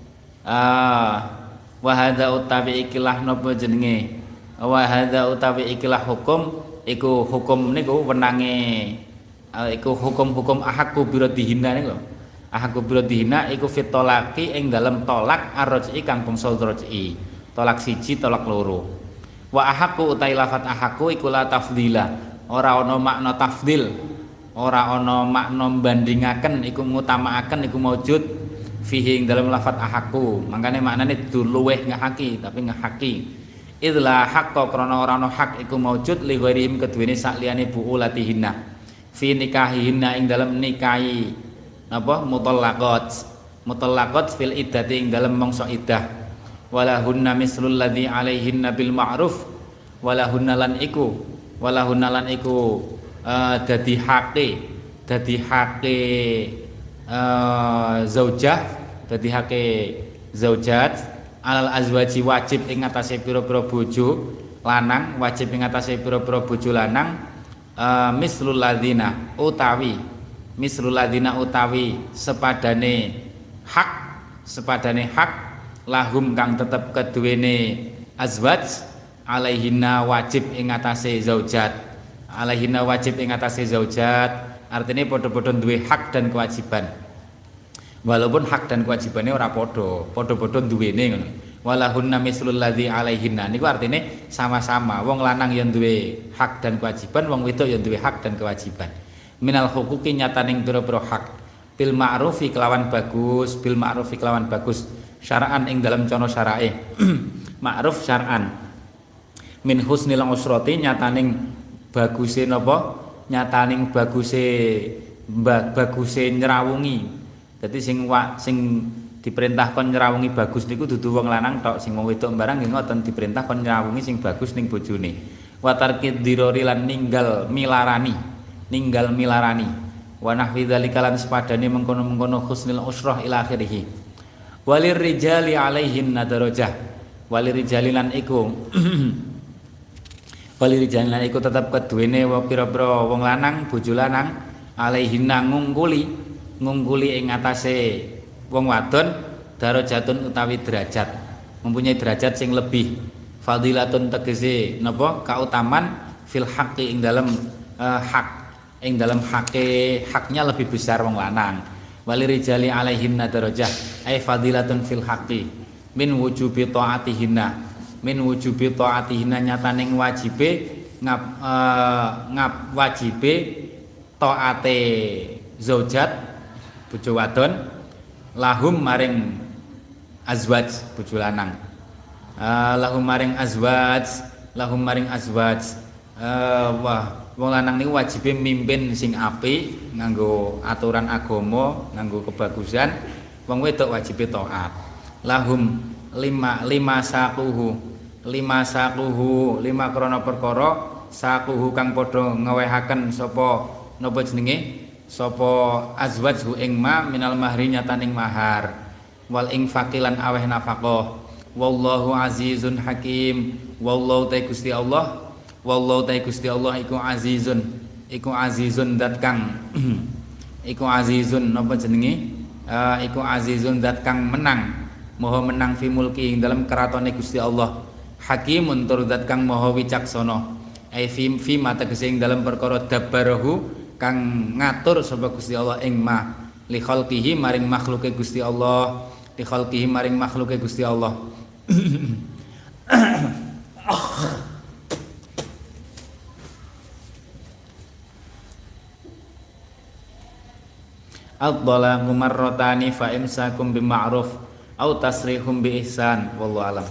ah wa hadza utawi ikilah napa jenenge wa hadza utawi ikilah hukum iku hukum niku wenange iku hukum-hukum ahakku biradihina niku ahakku biradihina iku fitolaki ing dalem tolak arroji kang bangsa roji tolak siji tolak loro wa ahakku utawi lafat ahakku iku la tafdila ora ana makna tafdil ora ana makna bandingaken iku ngutamakaken iku maujud fihi ing dalem lafat ahakku mangkane maknane dudu luweh ngahaki tapi ngahaki idla haqqo krana ora ana hak iku maujud li ghairihim keduwene sakliyane buulatihinna fi nikahihinna ing dalem nikahi napa mutallaqat mutallaqat fil iddati ing dalem mangsa iddah walahunna mislul ladzi alaihinna bil ma'ruf walahunna lan iku walahunna lan iku uh, dadi hake dadi hake uh, zaujah dadi hake zaujat alal azwaji wajib ing atase pira-pira bojo lanang wajib ing atase pira-pira bojo lanang uh, mislul ladzina utawi mislul ladzina utawi sepadane hak sepadane hak lahum kang tetep keduwene azwaj alaihinna wajib ing atase zaujat alaihinna wajib ing atase zaujat artinya padha-padha duwe hak dan kewajiban walaupun hak dan kewajibannya ora padha padha-padha duwene ngono walahunna mislul ladzi alaihinna niku artine sama-sama wong lanang yang duwe hak dan kewajiban wong wedok yang duwe hak dan kewajiban minal huquqi nyataning pira-pira hak bil ma'rufi kelawan bagus bil ma'rufi kelawan bagus syara'an ing dalam cara syarae ma'ruf syar'an min husnil usrati nyataning baguse napa nyataning baguse baguse nyrawungi dadi sing wa, sing diperintah kon nyrawungi bagus niku dudu wong lanang tok sing wong wedok barang nggih ngoten diperintah kon nyrawungi sing bagus ning bojone wa tarkid dirori lan ninggal milarani ninggal milarani wa nahwi dzalika lan sepadane mengkono-mengkono husnul usrah ila akhirih walir rijali alaihin nadarajah walir rijali lan iku walir rijali lan iku tetep keduwene wong pira-pira wong lanang bojo lanang alaihin ngungkuli ngungkuli ing atase wong wadon darajatun utawi derajat mempunyai derajat sing lebih fadilatun tegese napa kautaman fil haqqi ing dalam uh, hak ing dalam hake haknya lebih besar wong lanang walirijali alaihinna darajah ay fadilatun fil haqqi min wujubi taatihinna min wujubi taatihinna nyataning wajibe ngap uh, ngap wajibe taate zaujat bojo wadon lahum maring azwaj bojo lanang uh, lahum maring azwaj lahum maring azwaj uh, wah wong lanang niku wajibe mimpin sing apik nganggo aturan agama nganggo kebagusan wong wedok wajibe taat lahum lima lima saquhu lima saquhu lima krana perkara saquhu kang padha ngewehaken sapa napa jenenge sapa azwajhu ing ma minal mahri nyataning mahar wal infaqilan aweh nafaqah wallahu azizun hakim wallahu ta Gusti Allah wallahu ta Gusti Allah iku azizun iku azizun dat kang iku azizun napa jenenge uh, iku azizun dat kang menang maha menang fi mulki ing dalam keratone Gusti Allah hakimun tur dat kang maha wicaksana ai fi fi mata gesing dalam perkara dabbarahu kang ngatur sapa Gusti Allah ing ma li khalqihi maring makhluke Gusti Allah li khalqihi maring makhluke Gusti Allah Al-dhalaqu marratani fa imsakum bima'ruf aw tasrihum bi ihsan wallahu alam.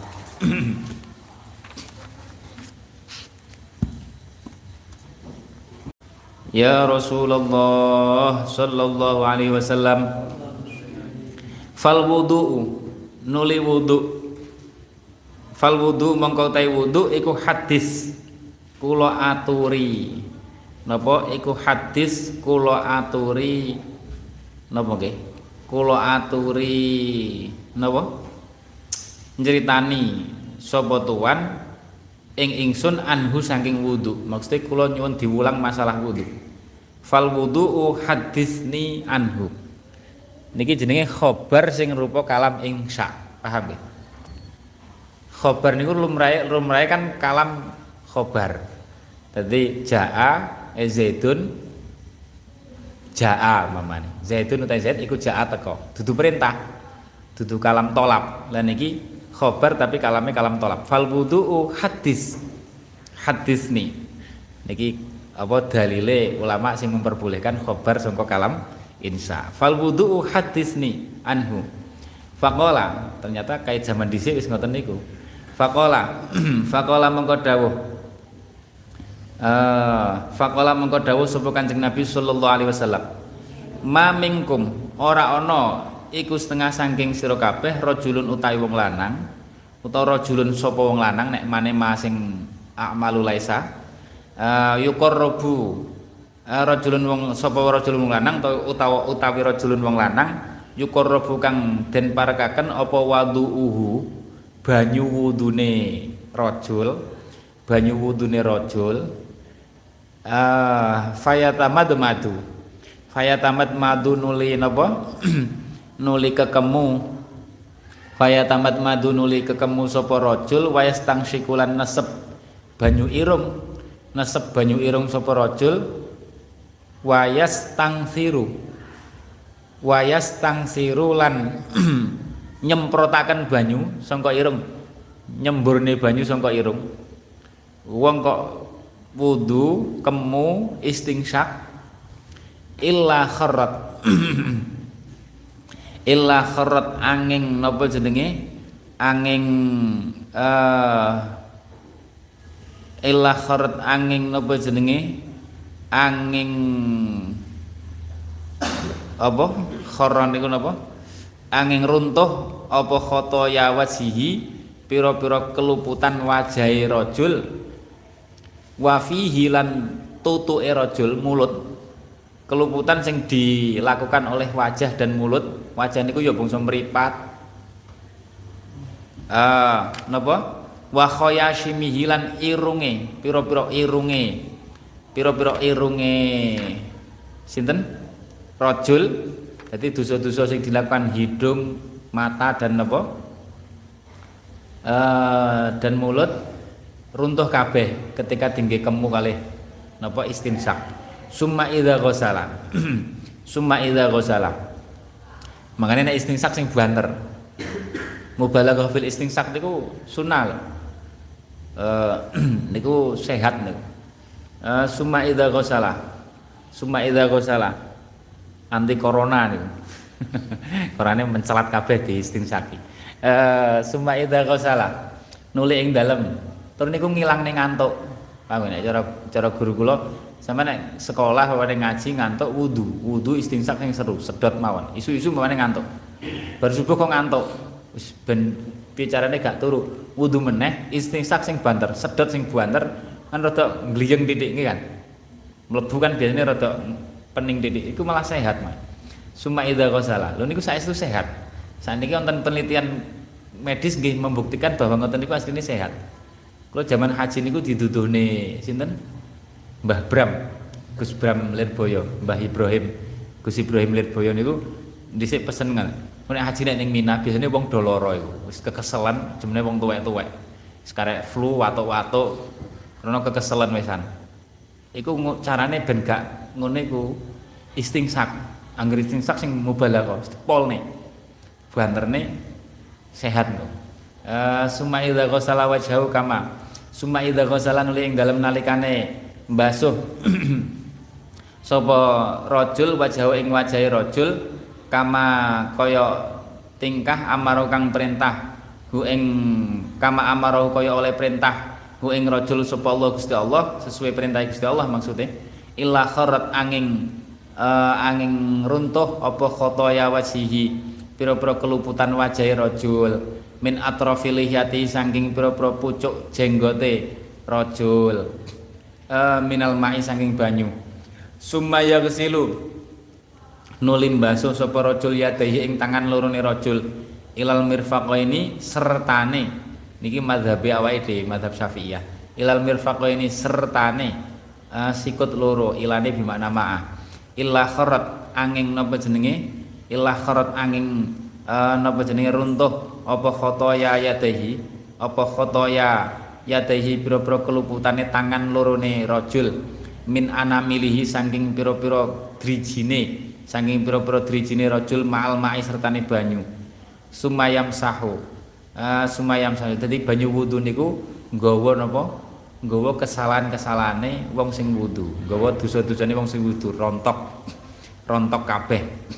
Ya Rasulullah sallallahu alaihi wasallam fal wudu'u nuli wudu fal wudu mongko tai wudu iku hadis kula aturi napa iku hadis kula aturi napa nggih kula aturi napa nyeritani sapa tuan ing ingsun anhu saking wudu maksudnya kula nyuwun diulang masalah wudu fal wudu'u hadisni anhu Niki jenenge khobar sing rupa kalam insya. Paham nggih? Khobar niku lumrahe lumrahe kan kalam khobar. Dadi jaa e Zaidun jaa mamane. Zaidun utai Zaid iku jaa teko. Dudu perintah. Dudu kalam tolab. Lah niki khobar tapi kalame kalam tolab. Fal wudu'u hadis. Hadis nih. Niki apa dalile ulama sing memperbolehkan khobar sangka kalam insya. Fal wudu'u hadisni anhu. Faqala, ternyata kait zaman dhisik wis ngoten niku. Faqala, faqala mengko dawuh. Eh, faqala mengko dawuh sapa Kanjeng Nabi sallallahu alaihi wasallam. Ma minkum ora ana iku setengah saking sira kabeh rajulun utawi wong lanang utawa rajulun sapa wong lanang nek mane ma sing a'malu laisa uh, yuqarrabu uh, rajulun wong sapa rajulun wong lanang utawa utawi rajulun wong lanang yuqarrabu kang den parekaken apa wudu'uhu banyu wudune rajul banyu wudune rajul uh, fayatamad madu fayatamad madu nuli napa nuli kekemu fayatamad madu nuli kekemu sapa rajul wayastang sikulan nesep banyu irung nesep banyu irung sapa rajul wayas tangsiru wayas tangsiru lan nyemprotaken banyu sangka irung nyemburne banyu sangka irung wong kok wudu kemu istingsyak illa kharat illa kharat angin napa jenenge angin uh, illa kharat angin napa jenenge angin apa kharan niku napa angin runtuh apa khotoya wajhihi pira-pira keluputan wajahe rajul wa fihi lan tutuke rajul mulut keluputan sing dilakukan oleh wajah dan mulut wajah niku ya bangsa mripat ah napa wa khayashimihi lan irunge pira-pira irunge pira-pira irunge sinten rajul dadi dosa-dosa sing dilakukan hidung mata dan napa uh, dan mulut runtuh kabeh ketika tinggi kemu kalih napa istinsak summa idza ghasala summa idza ghasala makane nek istinsak sing banter mubalaghah fil istinsak niku sunah Uh, niku sehat niku. Uh, summa idza ghasala. Summa idza ghasala. Anti corona niku. Korane mencelat kabeh di istinsaki. Uh, summa idza ghasala. Nuli ing dalem. Tur niku ngilangne ngantuk. Paham nek cara cara guru kula sampe nek sekolah wane ngaji ngantuk wudu. Wudu istinsak sing seru, sedot mawon. Isu-isu mawon ngantuk. Bar subuh kok ngantuk. Wis ben bicarane gak turu. Wudu meneh istinsak sing banter sedot sing banter kan rada gliyeng titik iki kan mlebu kan biasanya rada pening titik iku malah sehat mah summa idza ghasala lho niku saestu sehat saniki wonten penelitian medis nggih membuktikan bahwa ngoten niku asline sehat kula zaman haji niku diduduhne sinten Mbah Bram Gus Bram Lirboyo Mbah Ibrahim Gus Ibrahim Lirboyo niku dhisik pesen kan nek haji nek ning Mina biasane wong do lara iku wis kekeselan jemene wong tuwek-tuwek wis karek flu watuk-watuk karena kekeselan wisan iku carane ben gak ngono iku istingsak anggere istingsak sing mubalaghah polne banterne sehat lho uh, summa idza ghasala wajhahu kama summa idza ghasala nuli ing dalem nalikane mbasuh sapa rajul wajahu ing wajahe rajul kama kaya tingkah amaro kang perintah hu ing kama amaro kaya oleh perintah hu ing rajul sapa Allah Gusti Allah sesuai perintah Gusti Allah maksudnya illa kharat angin uh, angin runtuh apa khotoya wajhihi pira-pira keluputan wajahe rajul min atrafil lihiyati saking pira-pira pucuk jenggote rajul uh, minal ma'i saking banyu summa yaghsilu nulim basuh sapa rajul yadaihi ing tangan lorone rajul ilal mirfaqaini sertane niki mazhabe awake dhewe mazhab Syafi'iyah ilal mirfaqaini sertane uh, sikut loro ilane bimakna ma'ah illa kharat angin napa jenenge ilah kharat angin uh, napa jenenge runtuh apa khotoya yadahi apa khotoya yadahi pira-pira keluputane tangan lorone rajul min anamilihi saking pira-pira drijine saking pira-pira drijine rajul ma'al ma'i sertane banyu sumayam sahu uh, sumayam sahu dadi banyu wudu niku nggawa napa nggawa kesalahan-kesalahane wong sing wudu nggawa dosa-dosane wong sing wudu rontok rontok kabeh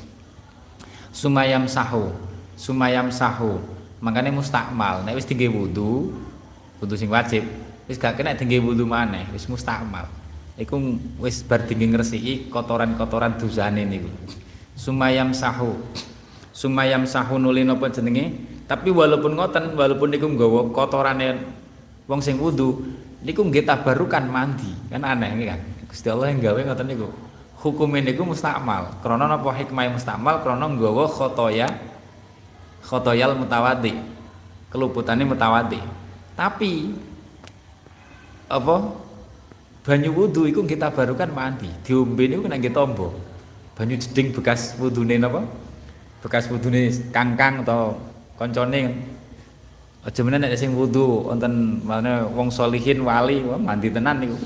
sumayam sahu sumayam sahu makane mustakmal nek wis dingge wudu wudu sing wajib wis gak kena dingge wudu maneh wis mustakmal iku wis bar dingge ngresiki kotoran-kotoran dosane niku sumayam sahu sumayam sahu nuli napa jenenge tapi walaupun ngoten walaupun niku nggawa kotorane wong sing wudu niku nggih tabarukan mandi kan aneh kan Gusti Allah yang gawe ngoten niku hukume niku mustakmal krana napa hikmah mustakmal krana nggawa khotoya khotoyal mutawaddi keluputane mutawaddi tapi apa banyu wudu iku nggih tabarukan mandi diombe niku nek nggih tombo banyu jeding bekas wudune napa bekas wudune kangkang atau koncone aja menen nek sing wudu wonten maneh wong sholihin wali wah mandi tenan niku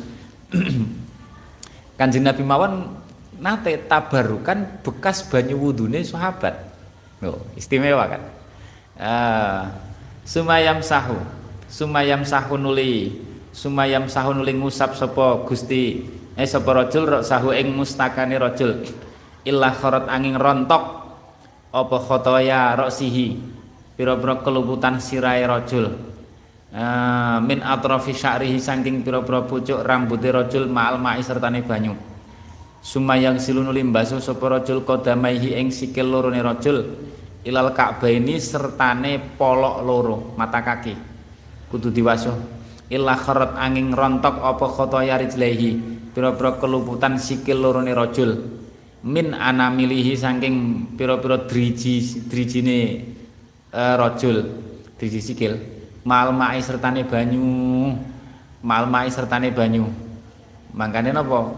Kanjeng Nabi mawon nate tabarukan bekas banyu wudune sahabat. Loh, istimewa kan. Uh, sumayam sahu. Sumayam sahu nuli. Sumayam sahu nuli ngusap sapa Gusti eh sapa rajul rok sahu ing mustakane rajul. Illah kharat angin rontok apa khotoya roksihi. Pira-pira keluputan sirahe rajul. Uh, min atrafi sya'rihi saking pira-pira pucuk rambuté rajul ma'al ma'i sertane banyu. Sumayang silunu limbasu sapa rajul qadamaihi ing sikil lorone rajul ilal ka'baini sertane polok loro mata kaki kudu diwasuh illa kharat angin rontok apa khotoya rijlaihi pira-pira keluputan sikil lorone rajul min anamilihi saking pira-pira driji drijine uh, rajul driji sikil mal ma'i sertane banyu mal ma'i sertane banyu mangkane napa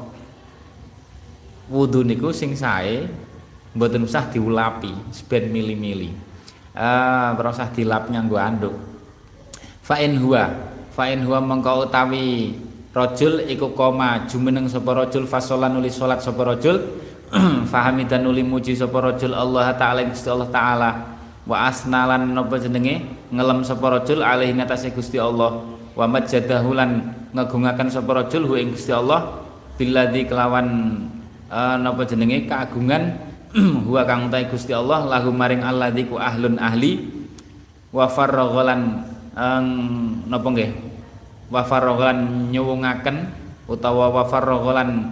wudu niku sing sae mboten usah diulapi seben mili-mili eh ora usah dilap nganggo anduk fa in huwa fa in huwa mengko utawi rajul iku koma jumeneng sapa rajul fasolan nuli salat sapa rajul fahamidan nuli muji sapa rajul Allah taala Gusti Allah taala wa asnalan napa jenenge ngelem sapa rajul alaihi ngatasé Gusti Allah wa majjadahu lan ngagungaken sapa rajul hu ing Gusti Allah billadzi kelawan uh, napa jenenge keagungan huwa kang utahe Gusti Allah lahu maring alladzi ku ahlun ahli wa faraghalan um, napa nggih wa faraghalan nyuwungaken utawa wa faraghalan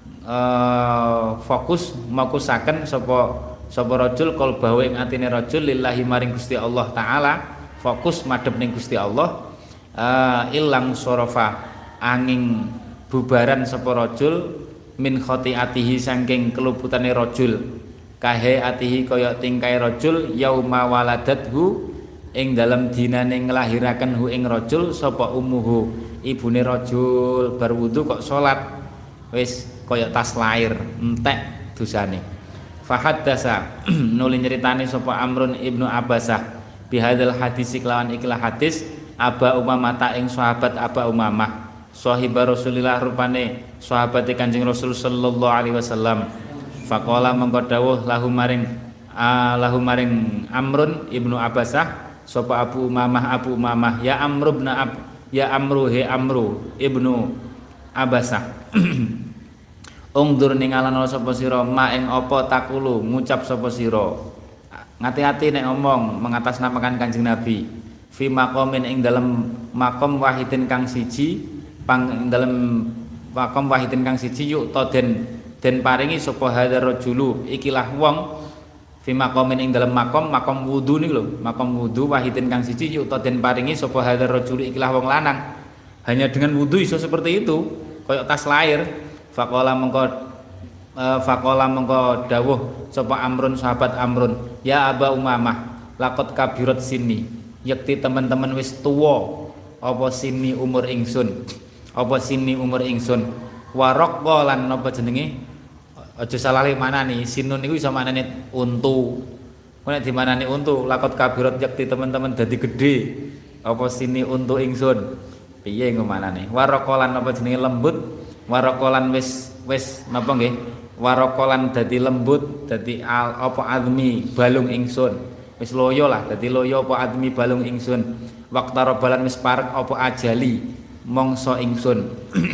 uh, fokus makusaken sapa sapa rajul qalbahu ing atine rajul lillahi maring Gusti Allah taala fokus madhep ning Gusti Allah uh, ilang sorofa angin bubaran sapa rajul min khotiatihi saking keluputane rajul kahe atihi kaya tingkai rajul yauma waladathu ing dalem dinane nglahiraken hu ing rajul sapa ummuhu ibune rajul bar wudu kok salat wis kaya tas lair entek dosane fahaddasa nuli nyeritani sapa Amrun ibnu Abbasah bihadzal hadis kelawan ikilah hadis Aba Umamah ta ing sahabat Aba Umamah sahiba Rasulillah rupane sahabate Kanjeng Rasul sallallahu alaihi wasallam faqala mengko dawuh lahu maring uh, lahu maring Amrun ibnu Abbasah sapa Abu Umamah Abu Umamah ya Amru ibn Ab ya Amru he Amru ibnu Abbasah ungdur ningalan sapa sira ma ing apa takulu ngucap sapa sira ngati-ati nek ngomong mengatasnamakan Kanjeng Nabi fi maqamin ing dalem maqam wahidin kang siji pang ing dalem maqam wahidin kang siji yuk to den den paringi sapa hadzal rajulu ikilah wong fi maqamin ing dalem maqam maqam wudu niku lho maqam wudu wahidin kang siji yuk to den paringi sapa hadzal rajulu ikilah wong lanang hanya dengan wudu iso seperti itu koyok tas lair faqala mengko uh, faqala mengko dawuh sapa Amrun sahabat Amrun ya Aba Umamah laqad kabirat sini yakti teman-teman wis tuwa apa sini umur ingsun apa sini umur ingsun waraq lan napa jenenge Aja salah li manani, sinun niku iso manane untu. Nek di manani untu, lakot kabirat yakti teman-teman dadi gedhe. Apa sini untu ingsun? Piye ngomanane? Warokolan apa jenenge lembut? Warokolan wis wis napa nggih? Warokolan dadi lembut, dadi al, apa admi balung ingsun. Wis loyo lah, dadi loyo apa admi balung ingsun. Waktaro balan wis parek apa ajali mangsa ingsun.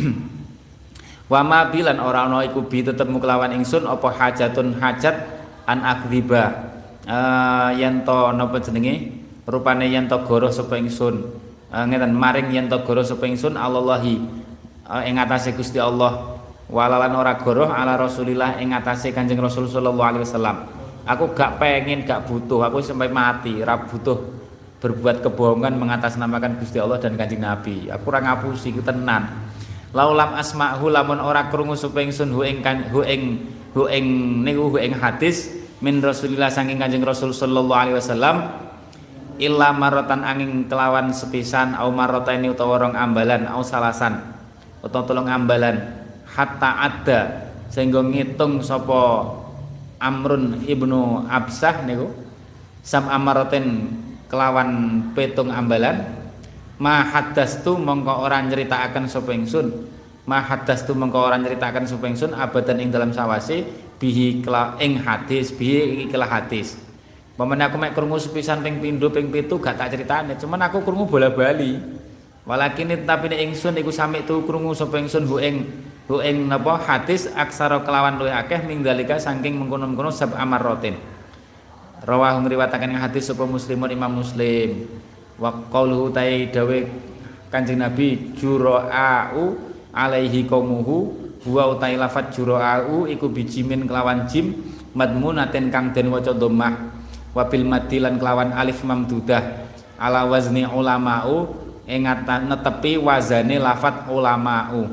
Wa ma bilan ora ana iku bi tetep kelawan ingsun apa hajatun hajat an akriba uh, yen to napa jenenge rupane yen to goro sapa ingsun uh, ngeten maring yen to goro sapa ingsun Allahi uh, ing atase Gusti Allah walalan ora goro ala Rasulillah ing atase Kanjeng Rasul sallallahu alaihi wasallam. Aku gak pengen gak butuh, aku sampai mati ora butuh berbuat kebohongan mengatasnamakan Gusti Allah dan Kanjeng Nabi. Aku ora ngapusi ku tenan. Laulam asma'hu lamun ora krungu sapa ingsun hu ing hu ing hu ing niku hu ing hadis min Rasulillah saking Kanjeng Rasul sallallahu alaihi wasallam illa maratan angin kelawan sepisan au marataini utawa rong ambalan au salasan utawa tolong ambalan hatta ada sehingga ngitung sapa Amrun ibnu Absah niku sam amaraten kelawan petung ambalan ma haddastu mongko ora nyeritakaken sapa ingsun ma haddastu mongko ora nyeritakaken sapa ingsun abadan ing dalam sawase bihi kela ing hadis bihi iki hadis pamane aku mek krungu sepisan ping pindho ping pitu gak tak critane cuman aku krungu bola-bali walakin tapi nek ingsun iku sami tu krungu sapa ingsun hu ing hu ing napa hadis aksara kelawan luwih akeh ming dalika saking mengkono-mengkono sab amarratin rawahu ngriwataken hadis sapa muslimun Imam Muslim wa qauluhu tai dawe Kanjeng Nabi jura'u alaihi qaumuhu huwa utai lafat jura'u iku bijimin kelawan jim madmunaten kang den waca dhammah wa bil madilan kelawan alif mamdudah ala wazni ulama'u ing netepi wazane lafat ulama'u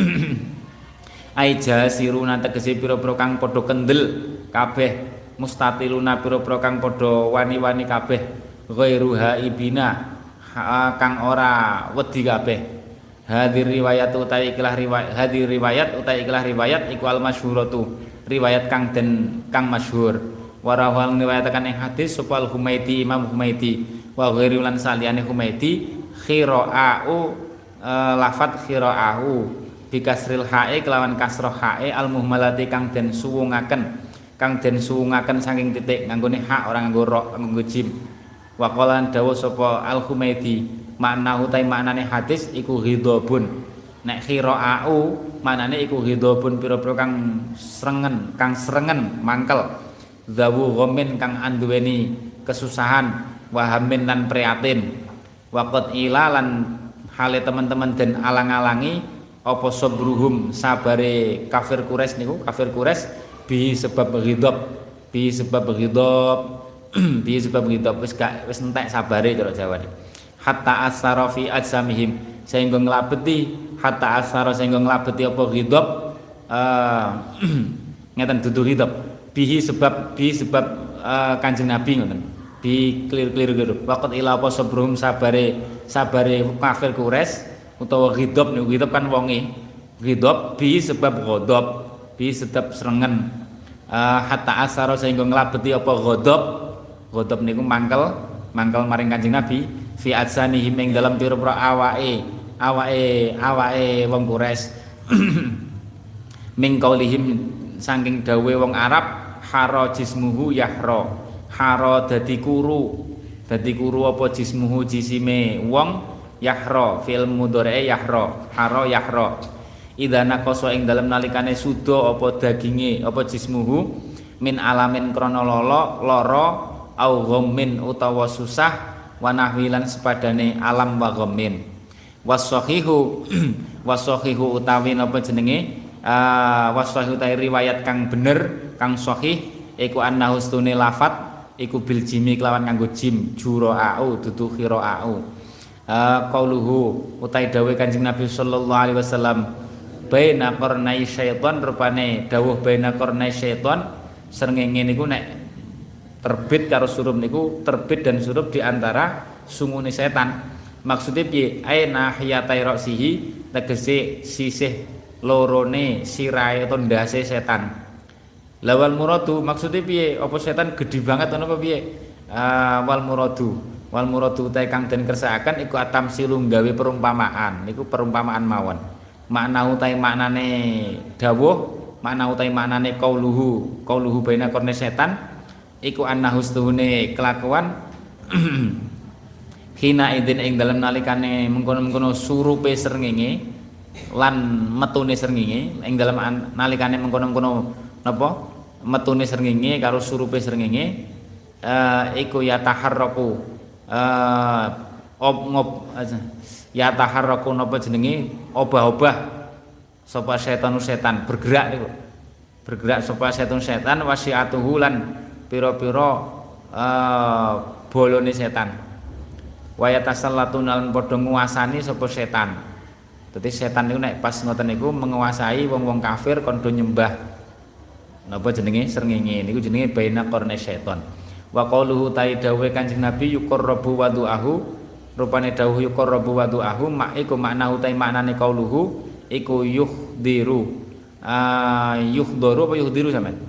ai jasiruna tegese pira-pira kang padha kendel kabeh mustatiluna pira-pira kang padha wani-wani kabeh ghairuha ibina kang ora wedi kabeh hadir riwayat utawi ikilah riwayat hadir riwayat utawi ikilah riwayat iku al masyhuratu riwayat kang den kang masyhur warawal riwayataken ing hadis sapa al Humaidi Imam Humaidi wa ghairu lan saliyane Humaidi khira'u e, lafat khira'u bi kasril hae kelawan kasroh hae al muhmalati kang den suwungaken kang den suwungaken saking titik nganggone hak ora nganggo ra nganggo jim. Wa qalan dawu sapa Al-Humaidi makna utai maknane hadis iku ghidabun nek khira'u maknane iku ghidabun pira-pira kang srengen kang srengen mangkel zawu ghamin kang anduweni kesusahan wahamin lan prihatin waqat ilalan hale teman-teman den alang-alangi apa sabruhum sabare kafir Quraisy niku kafir Quraisy bi sebab ghidab bi sebab ghidab bi sebab ghidab wis gak wis entek sabare cara Jawa iki hatta asara fi ajsamihim sehingga nglabeti hatta asara sehingga nglabeti apa ghidab uh, ngeten dudu ghidab bihi sebab bi sebab uh, Kanjeng Nabi ngoten bi clear-clear gitu waqt ila apa sabruhum sabare sabare kafir Quraisy utawa ghidab niku ghidab kan wonge ghidab bi sebab ghadab bi sebab serengen uh, hatta asara sehingga nglabeti apa ghadab ghadab niku mangkel mangkel maring Kanjeng Nabi fi adsanihim ing dalam pira-pira awake awake awake wong Quraisy ming qaulihim saking dawe wong Arab hara jismuhu yahra hara dadi kuru dadi kuru apa jismuhu jisime wong yahra fil mudhari yahra hara yahra idana koso ing dalam nalikane suda apa daginge apa jismuhu min alamin krana lolo lara au ghammin utawa susah wa nahwilan sepadane alam wa ghammin wasahihu wasahihu utawi napa jenenge uh, wasahihu ta riwayat kang bener kang sahih iku annahu stune lafat iku bil jimi kelawan nganggo jim jura'u dudu khira'u uh, qauluhu utai dawuh Kanjeng Nabi sallallahu alaihi wasallam baina qarnai syaitan rupane dawuh baina qarnai syaitan srengenge niku nek terbit karo surup niku terbit dan surup di antara sungune setan maksudnya piye aina hiyatai ra'sihi tegese sisih lorone sirahe utawa ndase setan Lawal muradu maksudnya piye? Apa setan gede banget ana apa piye? Uh, wal muradu. Wal muradu ta kang den kersakaken iku atam silung gawe perumpamaan. Niku perumpamaan mawon. Makna utai maknane dawuh, makna utai maknane qauluhu, qauluhu baina korne setan iku annahu stuhune kelakuan hina idin ing dalem nalikane mengkono-mengkono surupe srengenge lan metune srengenge ing dalem nalikane mengkono-mengkono napa metune srengenge karo surupe srengenge uh, iku ya taharraku uh, ob ngob ya taharraku napa jenenge obah-obah sapa setan setan bergerak niku bergerak sapa setan setan wasiatuhu lan pira-pira uh, bolone setan waya tasallatun lan padha nguasani sapa setan. Dadi setan niku nek pas ngoten niku menguasai wong-wong kafir kon do nyembah napa jenenge srengenge niku jenenge baina qarna setan. Wa qauluhu ta dawuhe Kanjeng Nabi yuqarrabu wadu'ahu rupane dawuh yuqarrabu wadu'ahu mak iku makna utai maknane qauluhu iku yuhdiru uh, yuhdaru apa yuhdiru sampean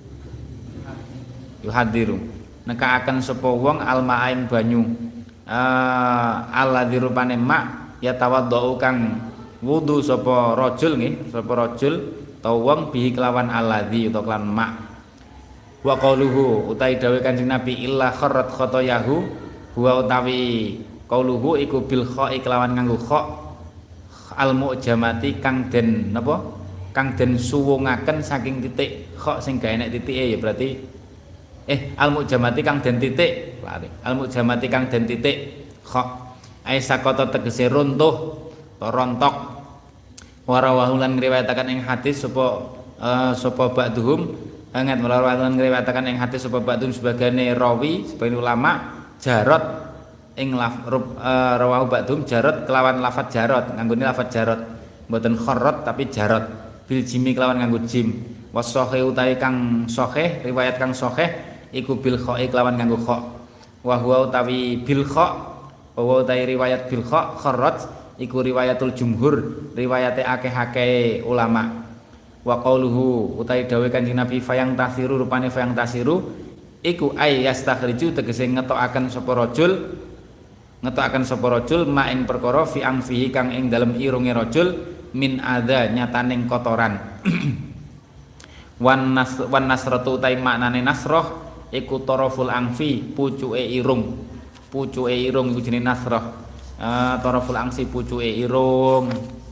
yuhadiru nekaaken sapa wong alma'ain banyu uh, alladzi rupane mak ya tawaddau kang wudu sapa rajul nggih sapa rajul tau wong bihi kelawan alladzi utawa kelawan mak wa qauluhu utai dawuh Kanjeng Nabi illa kharrat khotoyahu huwa utawi qauluhu iku bil kha'i kelawan nganggo kha al mu'jamati kang den napa kang den suwungaken saking titik kha sing gawe nek titike ya berarti eh al mu'jamati kang den titik lari al mu'jamati kang den titik kha ai sakata tegese runtuh to rontok warawahulan ngriwayataken ing hadis sapa uh, sapa ba'dhum anget warawahulan ngriwayataken ing hadis sapa ba'dhum sebagane rawi sebagian ulama jarot ing laf uh, rawahu ba'dhum jarot kelawan lafaz jarot nganggone lafaz jarot mboten kharrat tapi jarot bil jimi kelawan nganggo jim wasohe utawi kang sahih riwayat kang sahih iku bil kha'i kelawan nganggo kha wa huwa utawi bil kha wa utawi riwayat bil kha kharrat iku riwayatul jumhur riwayate akeh-akeh ulama wa qauluhu utawi dawuh Kanjeng Nabi fayang tasiru rupane fayang tasiru iku ay yastakhriju tegese ngetokaken sapa rajul ngetokaken sapa rajul ma ing perkara fi angfihi kang ing dalem irunge rajul min adza nyataning kotoran wan nas wan nasratu utawi maknane nasrah iku taraful angfi pucuke irung pucuke irung iku jenenge nasrah. Uh, taraful angsi pucuke irung.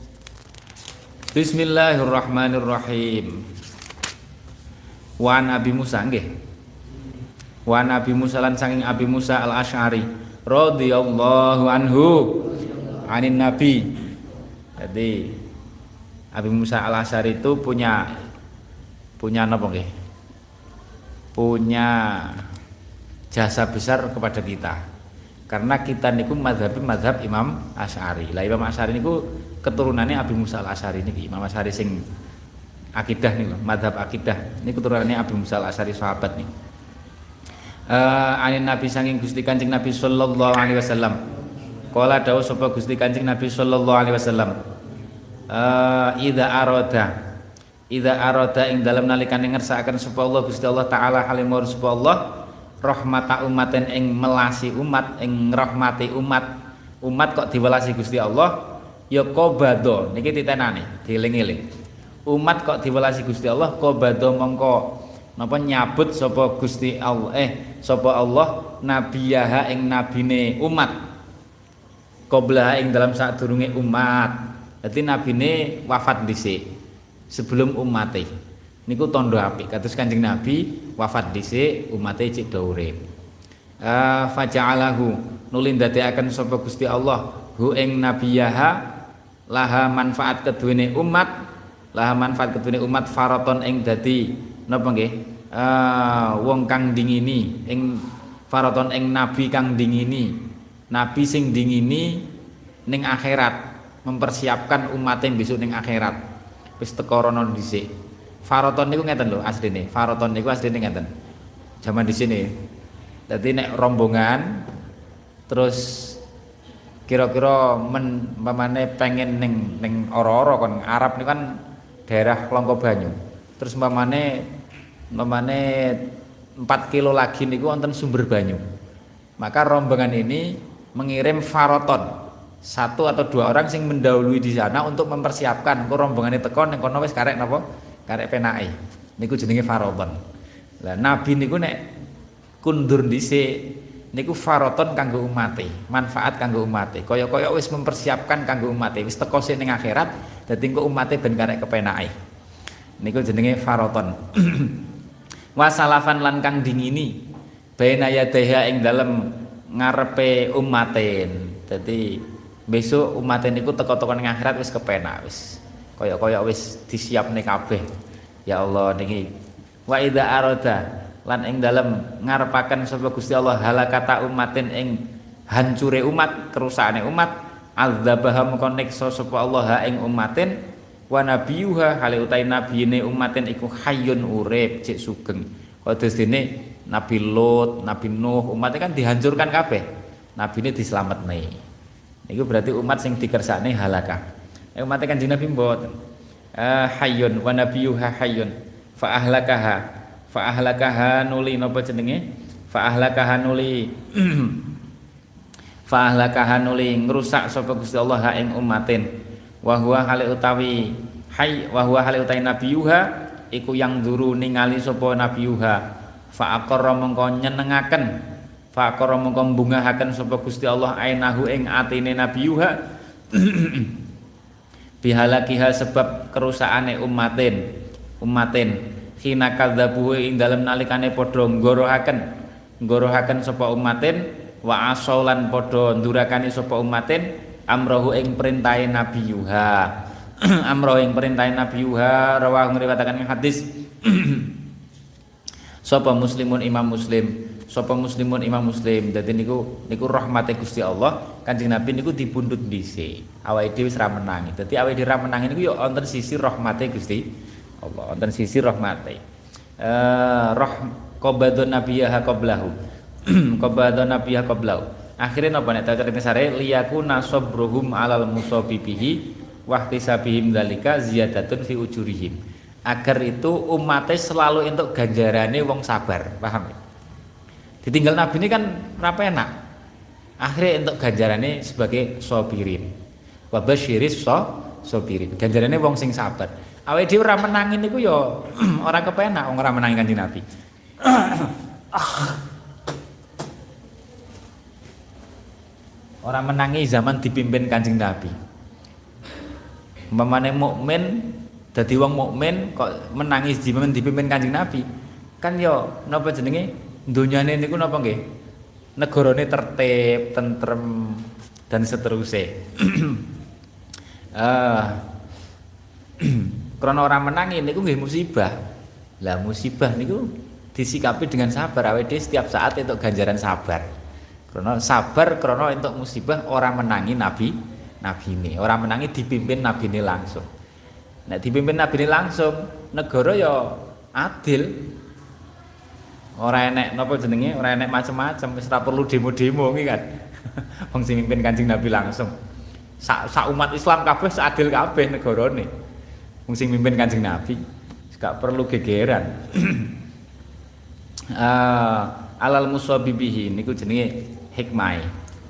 Bismillahirrahmanirrahim. Wa Nabi Musa nggih. Wa Nabi Musa lan saking Abi Musa Al-Asy'ari radhiyallahu anhu anin Nabi. Jadi Abi Musa Al-Asy'ari itu punya punya apa nggih? Punya jasa besar kepada kita. Karena kita niku mazhabi mazhab Imam Asy'ari. Lah Imam Asy'ari niku keturunannya Abi Musa Al-Asy'ari niki. Imam Asy'ari sing akidah niku, mazhab akidah. Ini keturunannya Abi Musa Al-Asy'ari sahabat nih. Eh uh, anin Nabi saking Gusti Kanjeng Nabi sallallahu alaihi wasallam. Qala dawuh sapa Gusti Kanjeng Nabi sallallahu alaihi wasallam. Eh idza arada idza arada ing dalem nalikane ngersakaken sapa Allah Gusti Allah taala halimur sapa Allah rahmata umaten ing melasi umat ing rahmati umat umat kok diwelasi Gusti Allah ya qabado niki titenane dieling-eling umat kok diwelasi Gusti Allah qabado mongko napa nyabut sapa Gusti Allah eh sapa Allah nabiyaha ing nabine umat qabla ing dalam sadurunge umat dadi nabine wafat dhisik sebelum umate niku tondo apik kados Kanjeng Nabi wafat dhisik umate cek do urip. Uh, faja'alahu nulin dadekaken sapa Gusti Allah hu ing nabiyaha laha manfaat keduwene umat laha manfaat keduwene umat faraton ing dadi napa nggih uh, wong kang dingini ing faraton ing nabi kang dingini nabi sing dingini ning akhirat mempersiapkan umate besok ning akhirat wis teka rono dhisik. Faraton niku ngeten lho asline. Faraton niku asline ngeten. Zaman di sini. Dadi nek rombongan terus kira-kira men pamane pengen ning ning ora-ora kon Arab niku kan daerah Longko Banyu. Terus pamane umpamane empat kilo lagi niku wonten sumber banyu. Maka rombongan ini mengirim faroton, satu atau dua orang sing mendahului di sana untuk mempersiapkan kok rombongane teko ning kono wis karek napa? Karek penake. Niku jenenge faroton. Lah nabi niku nek kundur dhisik niku faroton kanggo umate, manfaat kanggo umate. Kaya-kaya wis mempersiapkan kanggo umate, wis teko sing ning akhirat dadi engko umate ben karek kepenake. Niku jenenge faroton. Wasalafan lan kang dingini baina yadaiha ing dalem ngarepe umaten. Dadi besok umaten niku teko-teko ning akhirat wis kepenak wis. Kaya-kaya wis disiapne kabeh. Ya Allah niki wa idza arada lan ing dalem ngarepaken sapa Gusti Allah halakata umatin ing hancure umat, kerusakane umat, azzabaha mengko neksa sapa Allah ing umatin wa nabiyuha hale utai nabiyine umatin iku hayyun urip cek sugeng. Kaya dene Nabi Lut, Nabi Nuh, umatnya kan dihancurkan kabeh. Nabine dislametne. Niku berarti umat sing dikersakne halakah. Eh umatnya kan Nabi mboten. Uh, hayyun wa nabiyuha hayyun fa ahlakaha fa ahlakaha nuli napa jenenge fa ahlakaha nuli fa ahlakaha nuli ngrusak sapa Gusti Allah ing umatin wa huwa hale utawi hay wa huwa hale utawi nabiyuha iku yang duru ningali sapa nabiyuha fa aqarra mengko nyenengaken fa aqarra mengko mbungahaken sapa Gusti Allah ainahu ing atine nabiyuha bihalakiha sebab kerusakane umatin umatin khina kadzabuhu ing dalem nalikane padha nggorohaken nggorohaken sapa umatin wa asolan padha ndurakani sapa umatin amrohu ing perintahe nabiyuha amrohu ing perintahe nabiyuha rawah ngriwayataken hadis sapa muslimun imam muslim sapa muslimun imam muslim. Dadi niku niku rahmate Gusti Allah, Kanjeng Nabi niku dipundhut dhisik. Awake dhewe wis ra menangi. Dadi awake dhewe ra menangi niku ya wonten sisi rahmate Gusti Allah, wonten sisi rahmate. Eh roh qabadun nabiyha qablahu. Qabadun nabiyha qablahu. Akhire napa nek carita sare liyakuna sabruhum alal musabibihi wa ihtisabihim dzalika ziyadatun fi ujurihim. Agar itu umatnya selalu untuk ganjarane wong sabar, paham ya? Ditinggal Nabi ini kan rapa enak. Akhirnya untuk ganjarannya sebagai sobirin. Wa basyiris so sobirin. Ganjarannya wong sing sabar. Awake dhewe ora menangin niku ya ora kepenak wong ora menangi Kanjeng Nabi. Ora menangi zaman dipimpin Kanjeng Nabi. Umpamane mukmin dadi wong mukmin kok menangis zaman dipimpin Kanjeng Nabi. Kan ya napa jenenge? Dunyane niku napa nggih? Negarane tertib, tentrem dan seterusnya. Eh krana ora menangi niku nggih musibah. Lah musibah niku disikapi dengan sabar. Awake dhewe setiap saat entuk ganjaran sabar. Krana sabar krana entuk musibah ora menangi nabi nabine, ora menangi dipimpin nabine langsung. Nek dipimpin nabine langsung, negara ya adil. Ora enek napa jenenge, ora enek macam-macam, wis ora perlu demo-demo iki kan. Wong sing mimpin Kanjeng Nabi langsung. Sak sak umat Islam kabeh seadil kabeh negarane. Wong sing mimpin Kanjeng Nabi gak perlu gegeran. uh, alal musabibihi niku jenenge hikmah.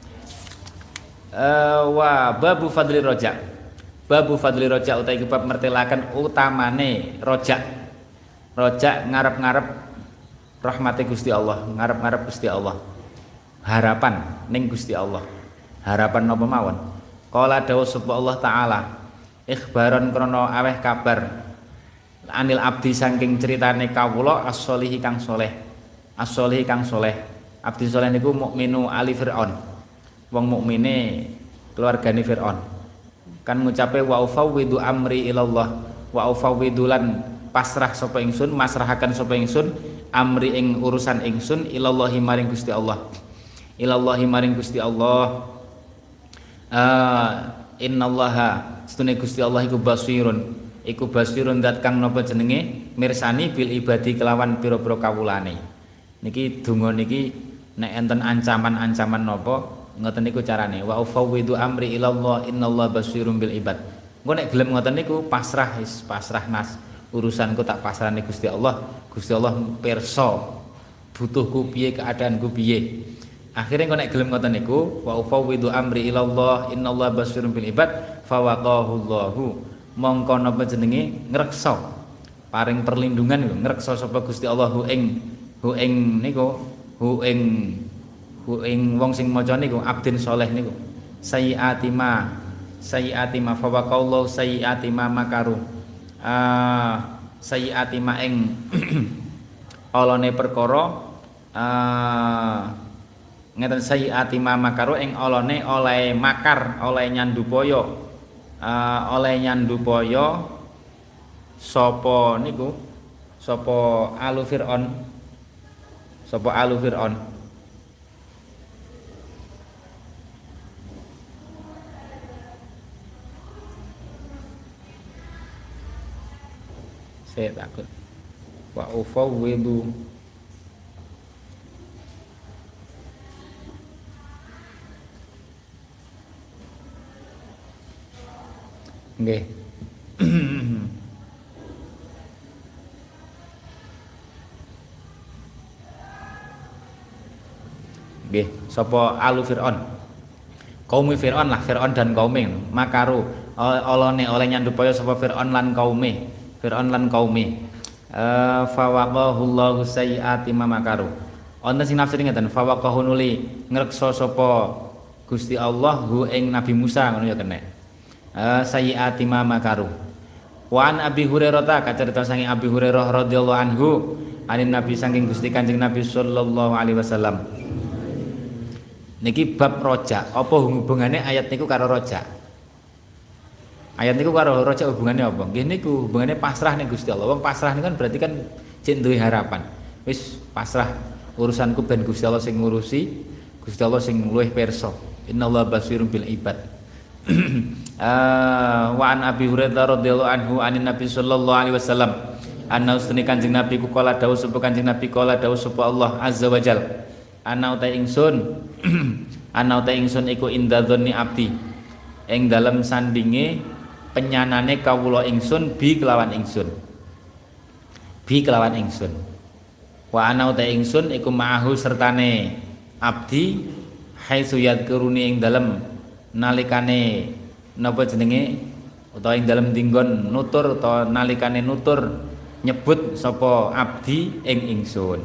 Uh, wa babu fadli rojak. Babu fadli rojak utawi bab mertelaken utamane rojak. Rojak ngarep-ngarep rahmati Gusti Allah, ngarep-ngarep Gusti Allah. Harapan ning Gusti Allah. Harapan napa mawon? Qala dawuh sapa Allah taala, ikhbaron krana aweh kabar anil abdi saking ceritane kawula as-sholihi kang soleh. As-sholihi kang soleh. Abdi soleh niku mukminu ali Fir'aun. Wong mukmine keluargane Fir'aun. Kan ngucape wa ufawwidu amri ilallah wa ufawwidu lan pasrah sapa ingsun, masrahaken sapa ingsun amri ing urusan ingsun ilallahi maring Gusti Allah. Ilallahi maring Gusti Allah. Uh, innallaha setune Gusti Allah iku basirun. Iku basirun zat kang napa jenenge mirsani bil ibadi kelawan pira-pira kawulane. Niki donga niki nek enten ancaman-ancaman napa ngoten niku carane wa ufawwidu amri ilallah innallaha basirun bil ibad. Engko nek gelem ngoten niku pasrah is pasrah nas urusanku tak pasrahne Gusti Allah. Gusti Allah pirsa butuhku piye, keadaanku piye. Akhirnya kok nek gelem ngoten niku, wa ufawwidu amri ilallah innallaha basirun bil ibad, fawaqahullahu. Mongko napa jenenge ngreksa paring perlindungan niku, ngreksa sapa Gusti Allah hu ing hu ing niku, hu ing hu ing wong sing maca niku abdin saleh niku. Sayyiati ma sayyiati ma fawaqallahu sayyiati ma makaru. Ah sayyiati ma ing olone perkara ah ngeten sayyiati ma makaru ing olone oleh makar, oleh nyandupaya. Uh, oleh nyandupaya sapa niku sapa alu Fir'aun sapa alu Fir'aun saya takut wa ufawwidu nggih. Nggih, sapa alu Fir'aun. Kaum Fir'aun lah, Fir'aun dan kaume. Makaru olone oleh nyandupaya sapa Fir'aun lan kaume. Fir'aun lan kaume. Eh fawaqahullahu sayyiati ma makaru. Wonten sing nafsir ngeten, fawaqahu nuli ngreksa sapa Gusti Allah hu ing Nabi Musa ngono ya kena. Uh, sayyiati ma makaru. Wa an Abi Hurairah ta kacarita saking Abi Hurairah radhiyallahu anhu anin Nabi saking Gusti Kanjeng Nabi sallallahu alaihi wasallam. Niki bab rojak. Apa hubungannya ayat niku karo rojak? Ayat niku karo rojak hubungannya apa? Nggih niku hubungannya pasrah ning Gusti Allah. Wong pasrah niku kan berarti kan cek duwe harapan. Wis pasrah urusanku ben Gusti Allah sing ngurusi, Gusti Allah sing luwih pirsa. Innallaha basirun bil ibad. Uh, wa an Abi Hurairah radhiyallahu anhu anin Nabi sallallahu alaihi wasallam anna ustuni Kanjeng Nabi ku kala dawuh sapa Kanjeng Nabi kala dawuh sapa Allah azza wajal ana uta ingsun ana uta ingsun iku inda dzanni abdi ing dalem sandinge penyanane kawula ingsun bi kelawan ingsun bi kelawan ingsun wa ana uta ingsun iku ma'ahu sertane abdi haitsu yadkuruni ing dalem nalikane napa jenenge utawa ing dalem dinggon nutur utawa nalikane nutur nyebut sapa abdi ing ingsun.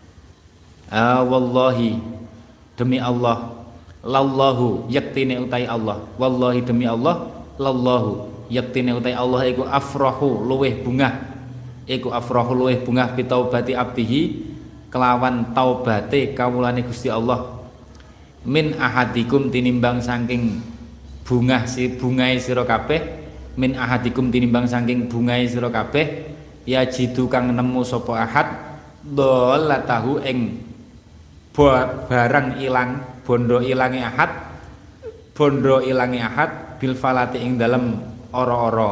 Ah wallahi demi Allah lallahu yaktine utai Allah wallahi demi Allah lallahu yaktine utai Allah iku afrahu luweh bungah iku afrahu luweh bungah bitaubati abdihi kelawan taubate kawulane Gusti Allah min ahadikum tinimbang saking bungah si bungai sira kabeh min ahadikum tinimbang saking bungai sira kabeh ya jidu kang nemu sapa ahad dolatahu ing barang ilang bondo ilange ahad bondo ilange ahad bil falati ing dalem ora-ora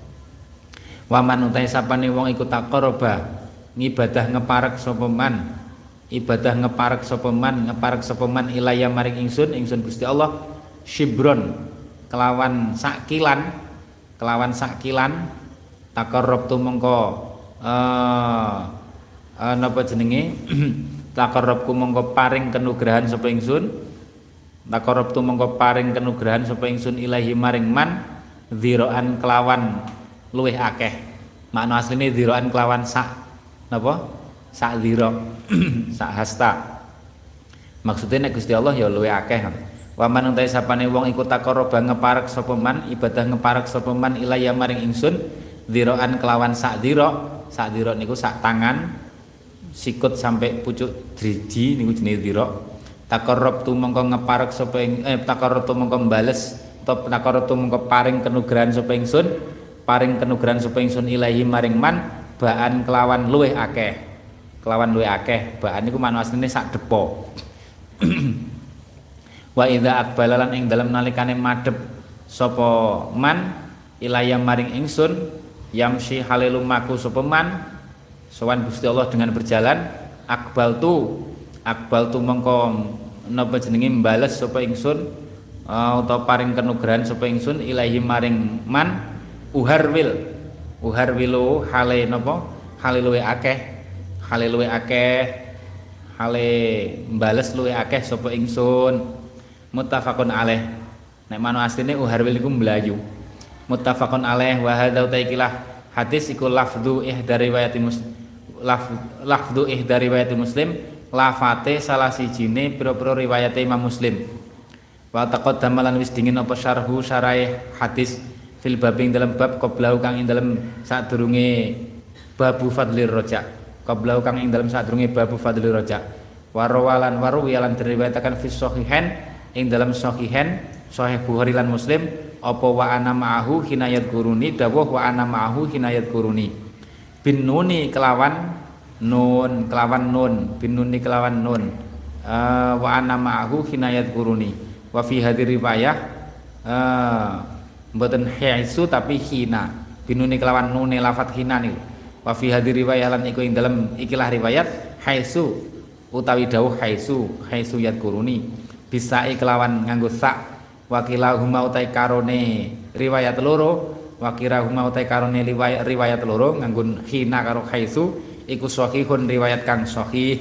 waman utai sapane wong iku taqarraba ngibadah ngeparek sapa man ibadah ngeparek sapa man ngeparek sapa man ilaya maring ingsun ingsun Gusti Allah shibron kelawan sakilan kelawan sakilan taqarrabtu mongko eh uh, napa jenenge taqarrabku mongko paring kenugrahan sapa ingsun taqarrabtu mongko paring kenugrahan sapa ingsun ilahi maring man dziraan kelawan luweh akeh makna asline dziraan kelawan sak napa sak dzira sak hasta maksudnya nek Gusti Allah ya luwih akeh wa man utahe sapane wong iku taqarraba ngeparek sapa man ibadah ngeparek sapa man ilaya maring ingsun dziraan kelawan sak dzira sak dzira niku sak tangan sikut sampai pucuk driji niku jenenge dzira taqarrab tu mongko ngeparek sapa eh taqarrab tu mongko mbales utawa taqarrab tu mongko paring kenugrahan sapa ingsun paring kenugrahan sapa ingsun ilahi maring man baan kelawan luwih akeh kelawan luwih akeh baan niku makna asline sak depo wa idza aqbalalan ing dalem nalikane madhep sapa man ilaya maring ingsun yamsi halilum maku sapa man sowan Gusti Allah dengan berjalan aqbaltu aqbaltu mengko napa jenenge mbales sapa ingsun uh, utawa paring kenugrahan sapa ingsun ilahi maring man uharwil Uhar wilu hale napa? Hale luwe akeh. Hale luwe akeh. Hale mbales luwe akeh sapa ingsun. Muttafaqun alaih. Nek manu asline uhar wil iku mlayu. Muttafaqun alaih wa hadza taikilah hadis iku lafdhu ihda riwayati muslim. Laf, lafdhu ihda riwayati muslim. Lafate salah sijine pira-pira riwayate Imam Muslim. Wa taqaddama lan wis dingin apa syarhu syaraih hadis fil babing dalam bab qablahu kang ing dalam sadurunge babu fadlir roja qablahu kang ing dalam sadurunge babu fadlir roja warawalan waru yalan diriwayatakan fi sahihain ing dalam sahihain sahih Bukhari lan Muslim apa wa ana ma'ahu hinayat guruni dawuh wa ana ma'ahu hinayat guruni bin nuni kelawan nun kelawan nun bin nuni kelawan nun uh, wa ana ma'ahu hinayat guruni wa fi hadhi riwayah uh, mboten haisu tapi hina binuni kelawan nune lafat hina niku wa fi hadhi riwayah lan iku ing dalem ikilah riwayat haisu utawi dawuh haisu haisu yat kuruni bisa kelawan nganggo sak wa kilahuma utai karone riwayat loro wa kirahuma utai karone riwayat riwayat loro nganggo hina karo haisu iku sahihun riwayat kang sahih.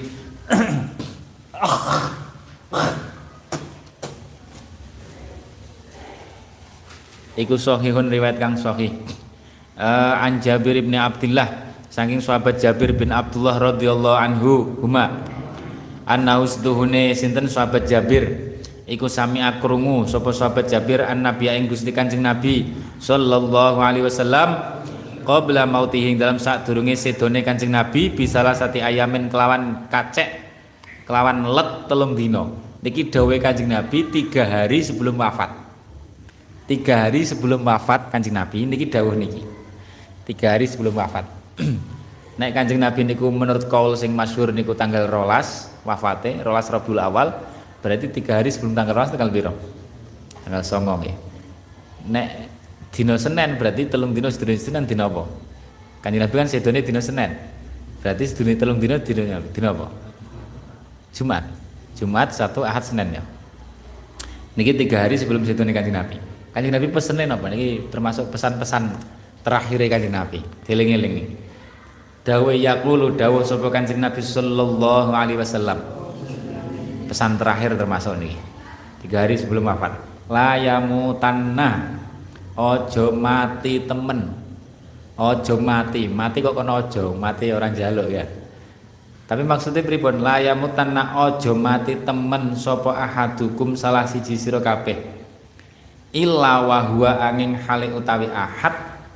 Iku sahihun riwayat kang sahih. Uh, an Jabir bin Abdullah saking sahabat Jabir bin Abdullah radhiyallahu anhu huma. Annaus duhune sinten sahabat Jabir iku sami akrungu sapa sahabat Jabir an Nabi ing Gusti Kanjeng Nabi sallallahu alaihi wasallam qabla mautihi dalam sadurunge sedone Kanjeng Nabi bisalah sati ayamin kelawan kacek kelawan let telung dina. Niki dawuhe Kanjeng Nabi tiga hari sebelum wafat. Tiga hari sebelum wafat Kanjeng Nabi niki dawuh niki. Tiga hari sebelum wafat. Nek Kanjeng Nabi niku menurut kaul sing masyhur niku tanggal rolas wafate, rolas Rabiul Awal, berarti tiga hari sebelum tanggal rolas tanggal piro? Tanggal songo nggih. Nek dina Senin berarti telung dina sedurunge Senin dina apa? Kanjeng Nabi kan sedone dina Senin. Berarti sedurunge telung dina dina dina apa? Jumat. Jumat, Sabtu, Ahad, Senin ya. Niki tiga hari sebelum sedone Kanjeng Nabi. Kanjeng Nabi pesenin apa niki termasuk pesan-pesan terakhir Kanjeng Nabi. Dieling-eling niki. Dawuh yaqulu dawuh sapa Kanjeng Nabi sallallahu alaihi wasallam. Pesan terakhir termasuk niki. Tiga hari sebelum wafat. La yamutanna ojo mati temen. Ojo mati. Mati kok kono ojo, mati orang jaluk ya. Tapi maksudnya pripun? La yamutanna ojo mati temen sapa ahadukum salah siji sira kabeh. Illa wa huwa angin hale utawi ahad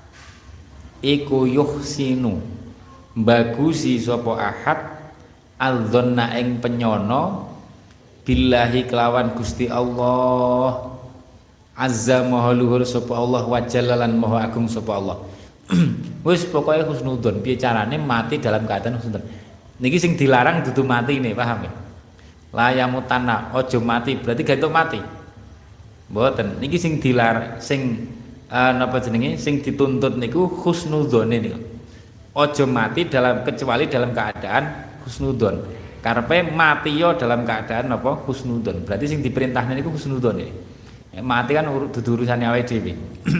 iku yuhsinu bagusi sapa ahad adzonna ing penyono billahi kelawan Gusti Allah azza maha luhur sapa Allah wa jallalan maha agung sapa Allah. Wis pokoke husnudzon piye carane mati dalam keadaan husnudzon. Niki sing dilarang dudu mati nih, paham ya? La yamutanna ojo mati berarti gak entuk mati. Mboten, niki sing dilar sing uh, napa jenenge sing dituntut niku husnudzone niku. Aja mati dalam kecuali dalam keadaan husnudzon. Karepe mati yo dalam keadaan napa husnudzon. Berarti sing diperintahne niku husnudzon ya. Mati kan dudu urusane awake dhewe.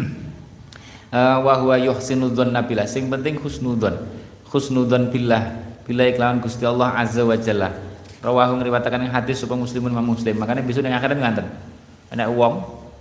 Uh, wa huwa yuhsinu dzanna billah. Sing penting husnudzon. Husnudzon billah. Bila iklawan Gusti Allah azza wa jalla. Rawahu ngriwataken hadis sapa Muslimun Imam Muslim. Makane besok ning akhirat nganten. Ana wong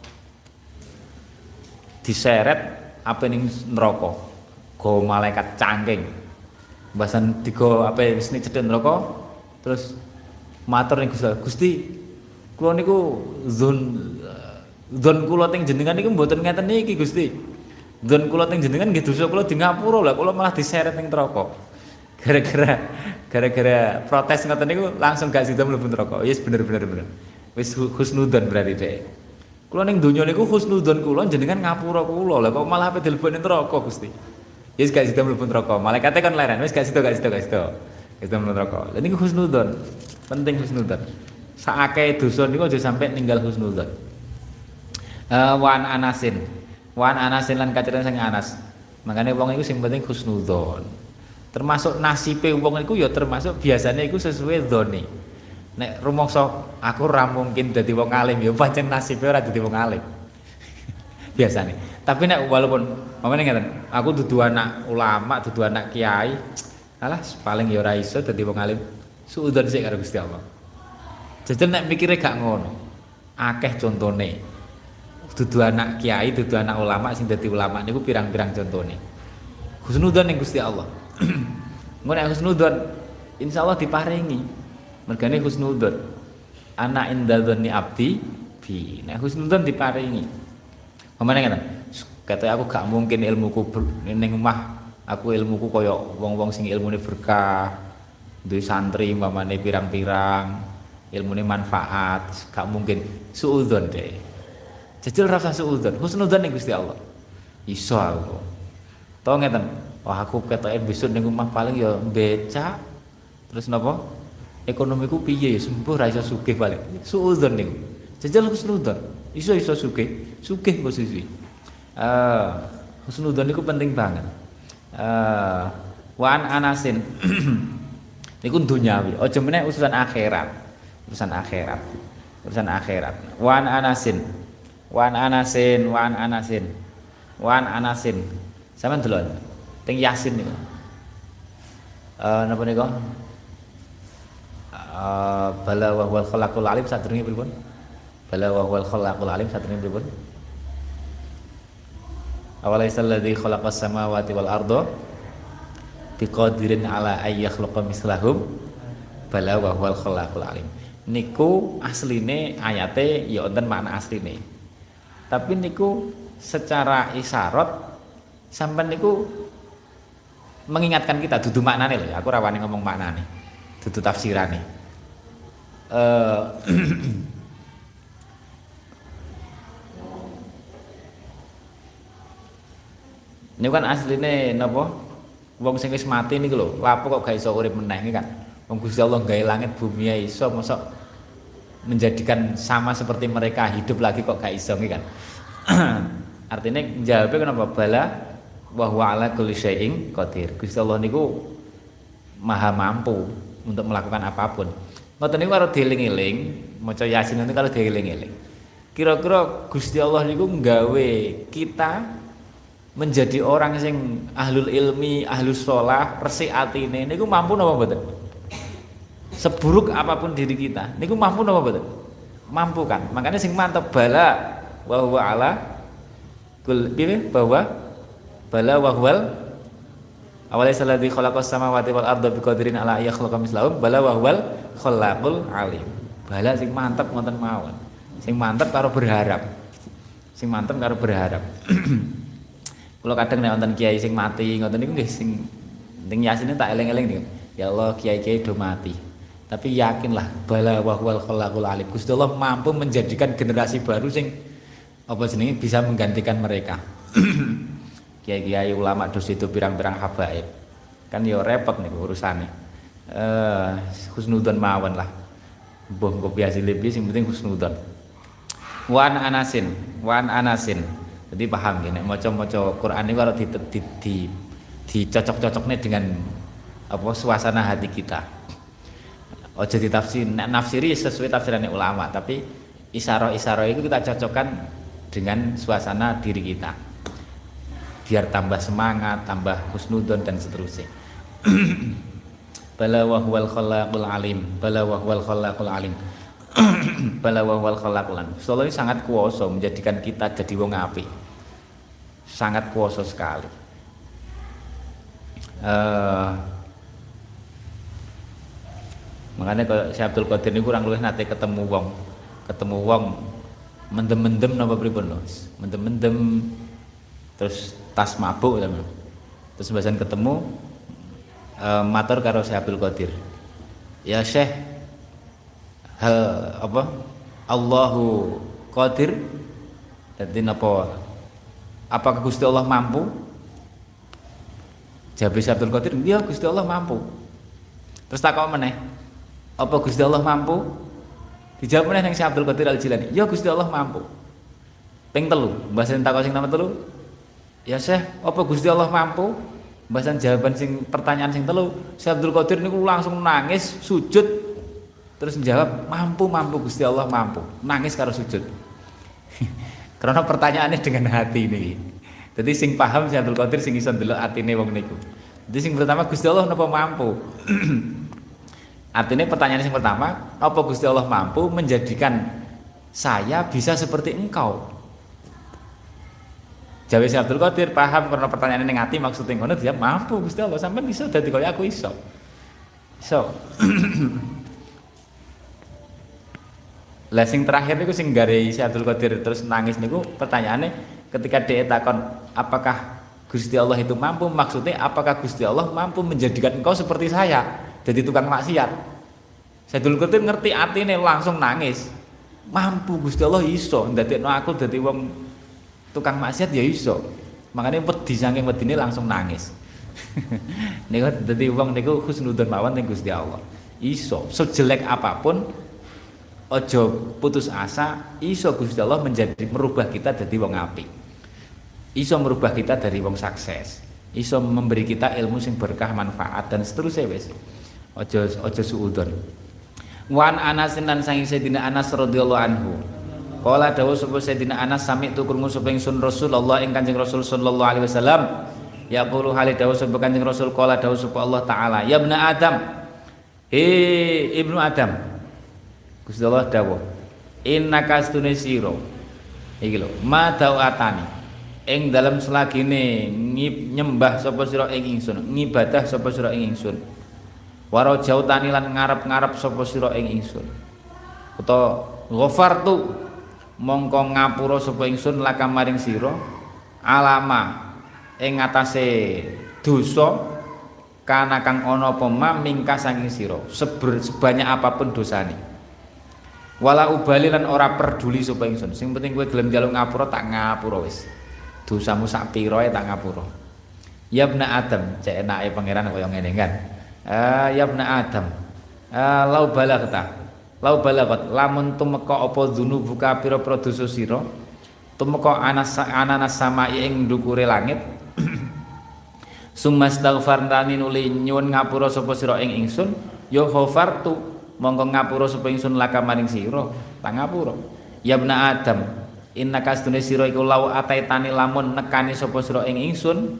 diseret apa ning neraka. Go malaikat cangking. Bahasan digo apa wis ning cedhek neraka terus matur ning Gusti. Gusti kula niku zon zon kula teng jenengan niku mboten ngeten niki Gusti. Zon kula teng jenengan nggih dosa kula di ngapura lah kula malah diseret ning neraka. Gara-gara gara-gara protes ngoten niku langsung gak sida mlebu neraka. Wis bener-bener bener. Wis husnudzon berarti dhek. Kula ning donya niku husnudzon kula jenengan ngapura kula. Lah kok malah ape dileboni neraka Gusti. Wis gak sida mlebu neraka. Malaikate kan leren, wis gak sida gak sida gak sida. Wis mlebu neraka. Lah niku husnudzon. Penting husnudzon. Saakeh dosa niku aja sampe ninggal husnudzon. Eh wan Anasin. Wan Anasin lan kaceran sing Anas. Makane wong iku sing penting husnudzon. Termasuk nasibe wong iku ya termasuk biasanya iku sesuai dzone. Nek rumangsa aku ora mungkin dadi wong alim ya pancen nasibe ora dadi wong alim. biasanya. Tapi nek walaupun mamane ngeten, aku dudu anak ulama, dudu anak kiai, alah paling ya ora iso dadi wong alim. Suudzon sik karo Gusti Allah. Jajal nek mikire gak ngono. Akeh contone. Dudu anak kiai, dudu anak ulama sing dadi ulama niku pirang-pirang contone. Husnudzon ning Gusti Allah. Engko nek husnudzon insyaallah diparingi. Mergane husnudzon. Ana indadzoni abdi bi. Nek husnudzon diparingi. Pamane ngeten. Kata aku gak mungkin ilmuku ning omah aku ilmuku kaya wong-wong sing ilmune berkah, duwe santri umpamane pirang-pirang, ilmune manfaat, gak mungkin suudzon deh. Jajal rasa suudzon, husnudzon ning Gusti Allah. Iso aku. Tau ngeten, wah aku ketoke besok ning omah paling ya becak. Terus napa? Ekonomiku piye ya sembuh ra iso sugih paling. Suudzon niku. Jajal husnudzon. Iso-iso sugih, sugih posisi. Eh, husnudzon niku penting banget. Eh, wa an anasin. Niku dunyawi, aja meneh urusan akhirat. Urusan akhirat. Urusan akhirat. Wa an anasin. Wa an anasin, wa an anasin. Wa an anasin. Sampeyan delok. Teng Yasin niku. Eh napa niku? Eh bala wa huwal khalaqul alim sadurunge pripun? Bala wa huwal khalaqul alim sadurunge pripun? Awalaisal ladzi khalaqas samawati wal arda biqadirin ala ay yakhluqa mislahum bala wa huwal khalaqul alim. Niku asline ayate ya wonten makna asline. Tapi niku secara isyarat sampean niku mengingatkan kita dudu maknane lho ya. Aku ra wani ngomong maknane. Dudu tafsirane. Eh Ini kan asline napa? Wong sing wis mati niku lho, lapo kok gak iso urip meneh iki kan. Wong Gusti Allah gawe langit bumi ya iso mosok menjadikan sama seperti mereka hidup lagi kok gak iso iki kan. Artinya jawabe kenapa bala wa huwa ala kulli syai'in qadir. Gusti Allah niku maha mampu untuk melakukan apapun. Ngoten niku karo dieling-eling, maca Yasin niku karo dieling-eling. Kira-kira Gusti Allah niku nggawe kita menjadi orang sing ahlul ilmi, ahlus sholah, resik atine niku mampu napa mboten? Seburuk apapun diri kita, niku mampu napa mboten? Mampu kan? Makanya sing mantep bala wa huwa ala kul piye bahwa bala wa huwal awalaisa alladzi khalaqas samawati wal arda biqadirin ala yakhluqa mislahum bala wa huwal khallaqul alim. Bala sing mantep ngoten mawon. Sing mantep karo berharap. Sing mantep karo berharap. Kalau kadang nek wonten kiai sing mati ngoten niku nggih sing ning Yasin tak eling-eling niku. Ya Allah kiai-kiai do mati. Tapi yakinlah bala wa huwal khalaqul alim. Gusti Allah mampu menjadikan generasi baru sing apa jenenge bisa menggantikan mereka. Kiai-kiai ulama dos itu pirang-pirang habaib. Kan ya repot niku urusane. Eh husnudzon mawon lah. Mbah engko biasa lebih sing penting husnudzon. Wan anasin, wan anasin. Jadi paham ya, nek maca-maca Quran ini kalau di, di, di, dicocok-cocoknya dengan apa suasana hati kita. Ojo ditafsir, nek nafsiri sesuai tafsirannya ulama, tapi isyarah-isyarah itu kita cocokkan dengan suasana diri kita. Biar tambah semangat, tambah husnudzon dan seterusnya. Bala wa huwal khallaqul alim, bala wa huwal khallaqul alim. Bala wa huwal khallaqul alim. Allah ini sangat kuasa menjadikan kita jadi wong apik. Sangat kuasa sekali. Uh, makanya kalau Syekh Abdul Qadir ini kurang luwih nate ketemu wong, ketemu wong mendem-mendem napa pripun lho. Mendem-mendem terus tas mabuk teman. Terus bahasan ketemu uh, matur karo Syekh Abdul Qadir. Ya Syekh, hal apa? Allahu Qadir. Dadi napa? Apakah Gusti Allah mampu? Jawab Syekh Abdul Qadir, "Iya, Gusti Allah mampu." Terus takok meneh, "Apa Gusti Allah mampu?" Dijawab meneh nang Syekh Abdul Qadir Al-Jilani, "Iya, Gusti Allah mampu." Ping telu, mbasan takok sing nomor telu, "Ya Syekh, apa Gusti Allah mampu?" Mbasan jawaban sing pertanyaan sing telu, Syekh Abdul Qadir niku langsung nangis, sujud, terus menjawab, "Mampu, mampu Gusti Allah mampu." Nangis karo sujud. Karena pertanyaannya dengan hati nih. Jadi sing paham Syekh Abdul Qadir sing iso ndelok atine wong niku. Jadi sing pertama Gusti Allah napa mampu? Artinya pertanyaan yang pertama, apa Gusti Allah mampu menjadikan saya bisa seperti engkau? Jawa Syekh Abdul Qadir paham karena pertanyaan yang ati maksudnya ngono dia mampu Gusti Allah sampean iso dadi kaya aku iso. Iso. Lah sing terakhir niku sing gare Syekh Abdul Qadir terus nangis niku pertanyaannya ketika dia takon apakah Gusti Allah itu mampu, maksudnya apakah Gusti Allah mampu menjadikan engkau seperti saya? Jadi tukang maksiat. Saya dulu ketir ngerti atine langsung nangis. Mampu Gusti Allah iso ndadekno aku dadi wong tukang maksiat ya iso. Makanya wedi saking wedine langsung nangis. Niku dadi wong niku husnudzon mawon ning Gusti Allah. Iso sejelek apapun ojo putus asa, iso Gusti Allah menjadi merubah kita dadi wong apik. Iso merubah kita dari wong sukses. Iso memberi kita ilmu sing berkah manfaat dan seterusnya wis. Ojo ojo suudzon. Wan Anas lan sang Sayyidina Anas radhiyallahu anhu. Qala dawuh sapa Sayyidina Anas sami tu krungu sapa ingsun Rasulullah ing Kanjeng Rasul sallallahu alaihi wasallam. Yaqulu hale dawuh sapa Kanjeng Rasul qala dawuh sapa Allah taala, "Ya ibnu Adam." He ibnu Adam. Gusti Allah dawuh, "Innaka astune sira." Iki lho, ma da'atani. Ing dalam selagine nyembah sapa sira ing ingsun, ngibadah sapa sira ing ingsun. Waro jautani lan ngarep-ngarep sapa sira ing ingsun. Utawa ghafartu mongko ngapura sapa ingsun laka maring sira alama ing ngatasé dosa kana kang ana apa mamingka saking sira sebanyak apapun dosane. Wala ubali lan ora peduli sapa ingsun. Sing penting kowe gelem njaluk ngapura tak ngapura wis. Dosamu sak pira tak ngapura. Ya ibna Adam, cek enake pangeran kaya ngene kan. Ah ya ibna Adam. Ah lau balagta. Lau balagat lamun tumeka apa dzunubuka pira-pira dosa sira. Tumeka anas ananas samai ing ndukure langit. Sumastaghfartani nuli nyuwun ngapura sapa sira ing ingsun, ya ghafartu mongko ngapura sapa ingsun laka maring sira, tak ngapura. Ya ibna Adam. Inna kastune sira iku lau ataitani lamun nekani sapa sira ing ingsun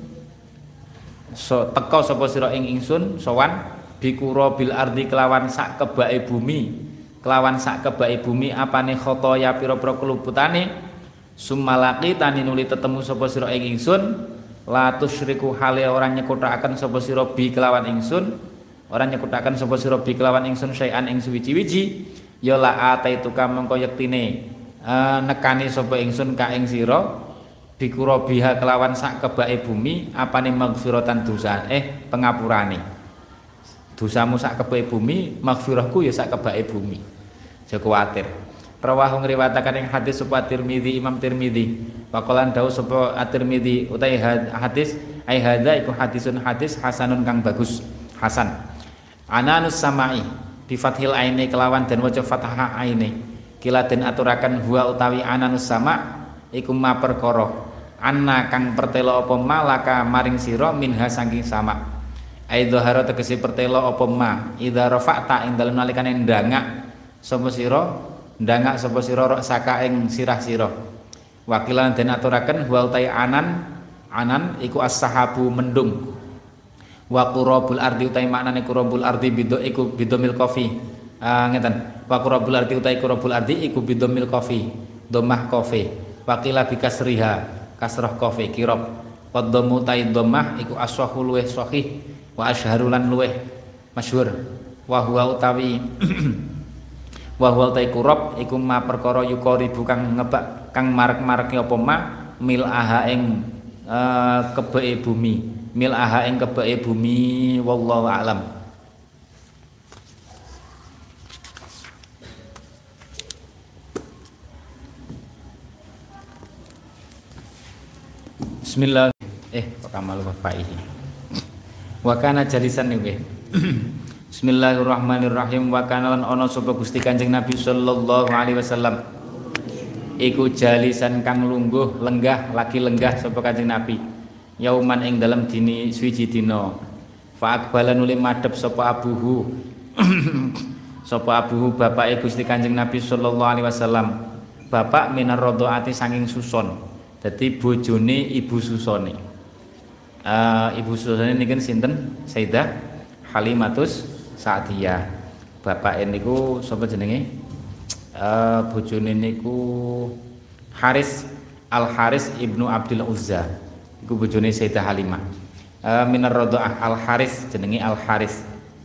so teka sapa sira ing ingsun sowan bikura bil ardi kelawan sak kebake bumi kelawan sak kebake bumi apane khotoya pira-pira keluputane sumalaki tani nuli tetemu sapa sira ing ingsun la tusyriku hale ora nyekuthaken sapa sira bi kelawan ingsun ora nyekuthaken sapa sira bi kelawan ingsun sayan ing suwiji-wiji ya la ataituka mengko yektine Uh, nekani sapa ingsun ka ing sira bikura biha kelawan sak kebake bumi apane maghfiratan dosa eh pengapurane dosamu sak kebake bumi maghfirahku ya sak kebake bumi aja kuwatir rawahu ngriwataken ing hadis sapa Tirmizi Imam Tirmizi waqalan dawuh sapa At-Tirmizi utai hadis ai hadza iku hadisun hadis hasanun kang bagus hasan ananus samai bi fathil aini kelawan dan waca fathah aini kila den aturaken huwa utawi ananus sama iku ma perkara anna kang pertelo apa malaka maring sira minha saking sama ai dhahara tegese pertelo apa ma idza rafa'ta ing dalem nalikane ndangak sapa sira ndangak sapa sira saka ing sirah sira wakilan den aturaken huwa utawi anan anan iku as-sahabu mendung wa qurabul ardi utawi maknane qurabul ardi bido iku bidomil qafi Uh, ngeten wa qurabul ardi utai qurabul ardi iku bidomil qafi dhammah qafi waqila bi kasriha kasrah qafi kirab qaddamu tai dhammah iku ashahu luweh sahih wa asyharu lan luweh masyhur wa huwa utawi wa huwa utai qurab iku ma perkara yuqaribu kang ngebak kang marek-mareke apa ma mil aha ing uh, kebeke bumi mil aha ing kebeke bumi wallahu a'lam. Bismillah eh kamal wafaihi wa kana jalisan nggih Bismillahirrahmanirrahim wa kana lan ana sapa Gusti Kanjeng Nabi sallallahu alaihi wasallam iku jalisan kang lungguh lenggah lagi lenggah sapa Kanjeng Nabi yauman ing dalam dini suwiji dina fa aqbala nuli madhep sapa abuhu sapa abuhu bapake Gusti Kanjeng Nabi sallallahu alaihi wasallam bapak minar radhaati saking suson. Dadi bojone ibu susone. Uh, ibu susone niku sinten? Sayyidah Halimatus Sa'diyah. Bapak niku sapa jenenge? Uh, bojone niku Haris Al Haris ibnu Abdul Uzza. Iku bojone Sayyidah Halimah. Uh, minar radhaah Al Haris jenenge Al Haris.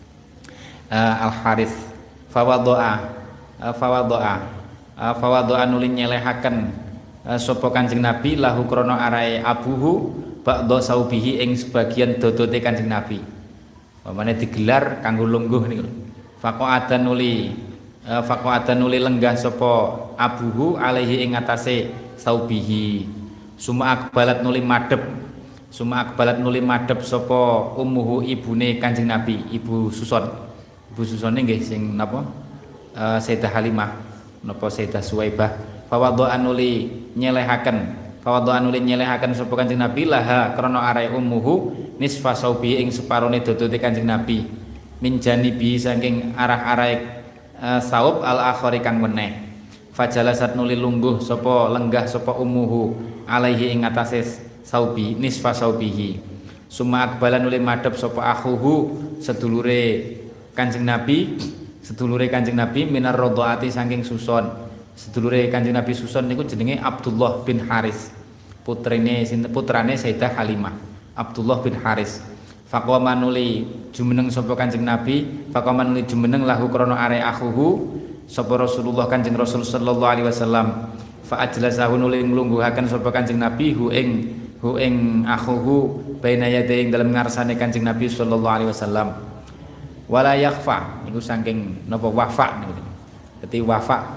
Uh, Al Haris fawadha'a uh, fawadha'a uh, fawadha'a nulin nyelehaken uh, sapa Kanjeng Nabi lahu krana arae abuhu ba'dha saubihi ing sebagian dodote Kanjeng Nabi. Pamane digelar kanggo lungguh niku. Faqa'adan nuli uh, faqa'adan nuli lenggah sapa abuhu alaihi ing atase saubihi. Suma akbalat nuli madhep suma akbalat nuli madhep sapa ummuhu ibune Kanjeng Nabi, ibu Suson. Ibu Susone nggih sing napa? Uh, Sayyidah Halimah napa Sayyidah Suwaibah. Fawadha'a nuli nyelehaken, fawadha'a nuli nyelehaken sapa Kanjeng Nabi laha krana arae ummuhu nisfa saubi ing separone dodote Kanjeng Nabi. Min janibi saking arah-arahe uh, saub al akhari kang weneh. Fajalasat nuli lungguh sapa lenggah sapa ummuhu alaihi ing atase saubi nisfa saubihi. Suma akbalan nuli madhep sapa akhuhu sedulure Kanjeng Nabi, sedulure Kanjeng Nabi minar radhaati saking suson. Sedulure Kanjeng Nabi suson niku jenenge Abdullah bin Haris. Putrine sinten putrane Sayyidah Halimah. Abdullah bin Haris. Faqama nuli jumeneng sapa Kanjeng Nabi, faqama nuli jumeneng lahu krana are akhuhu sapa Rasulullah Kanjeng Rasul sallallahu alaihi wasallam. Fa ajlasahu nuli nglungguhaken sapa Kanjeng Nabi hu ing hu ing akhuhu baina yadai ing dalem ngarsane Kanjeng Nabi sallallahu alaihi wasallam. Wala yakhfa niku saking napa wafa niku. Dadi wafa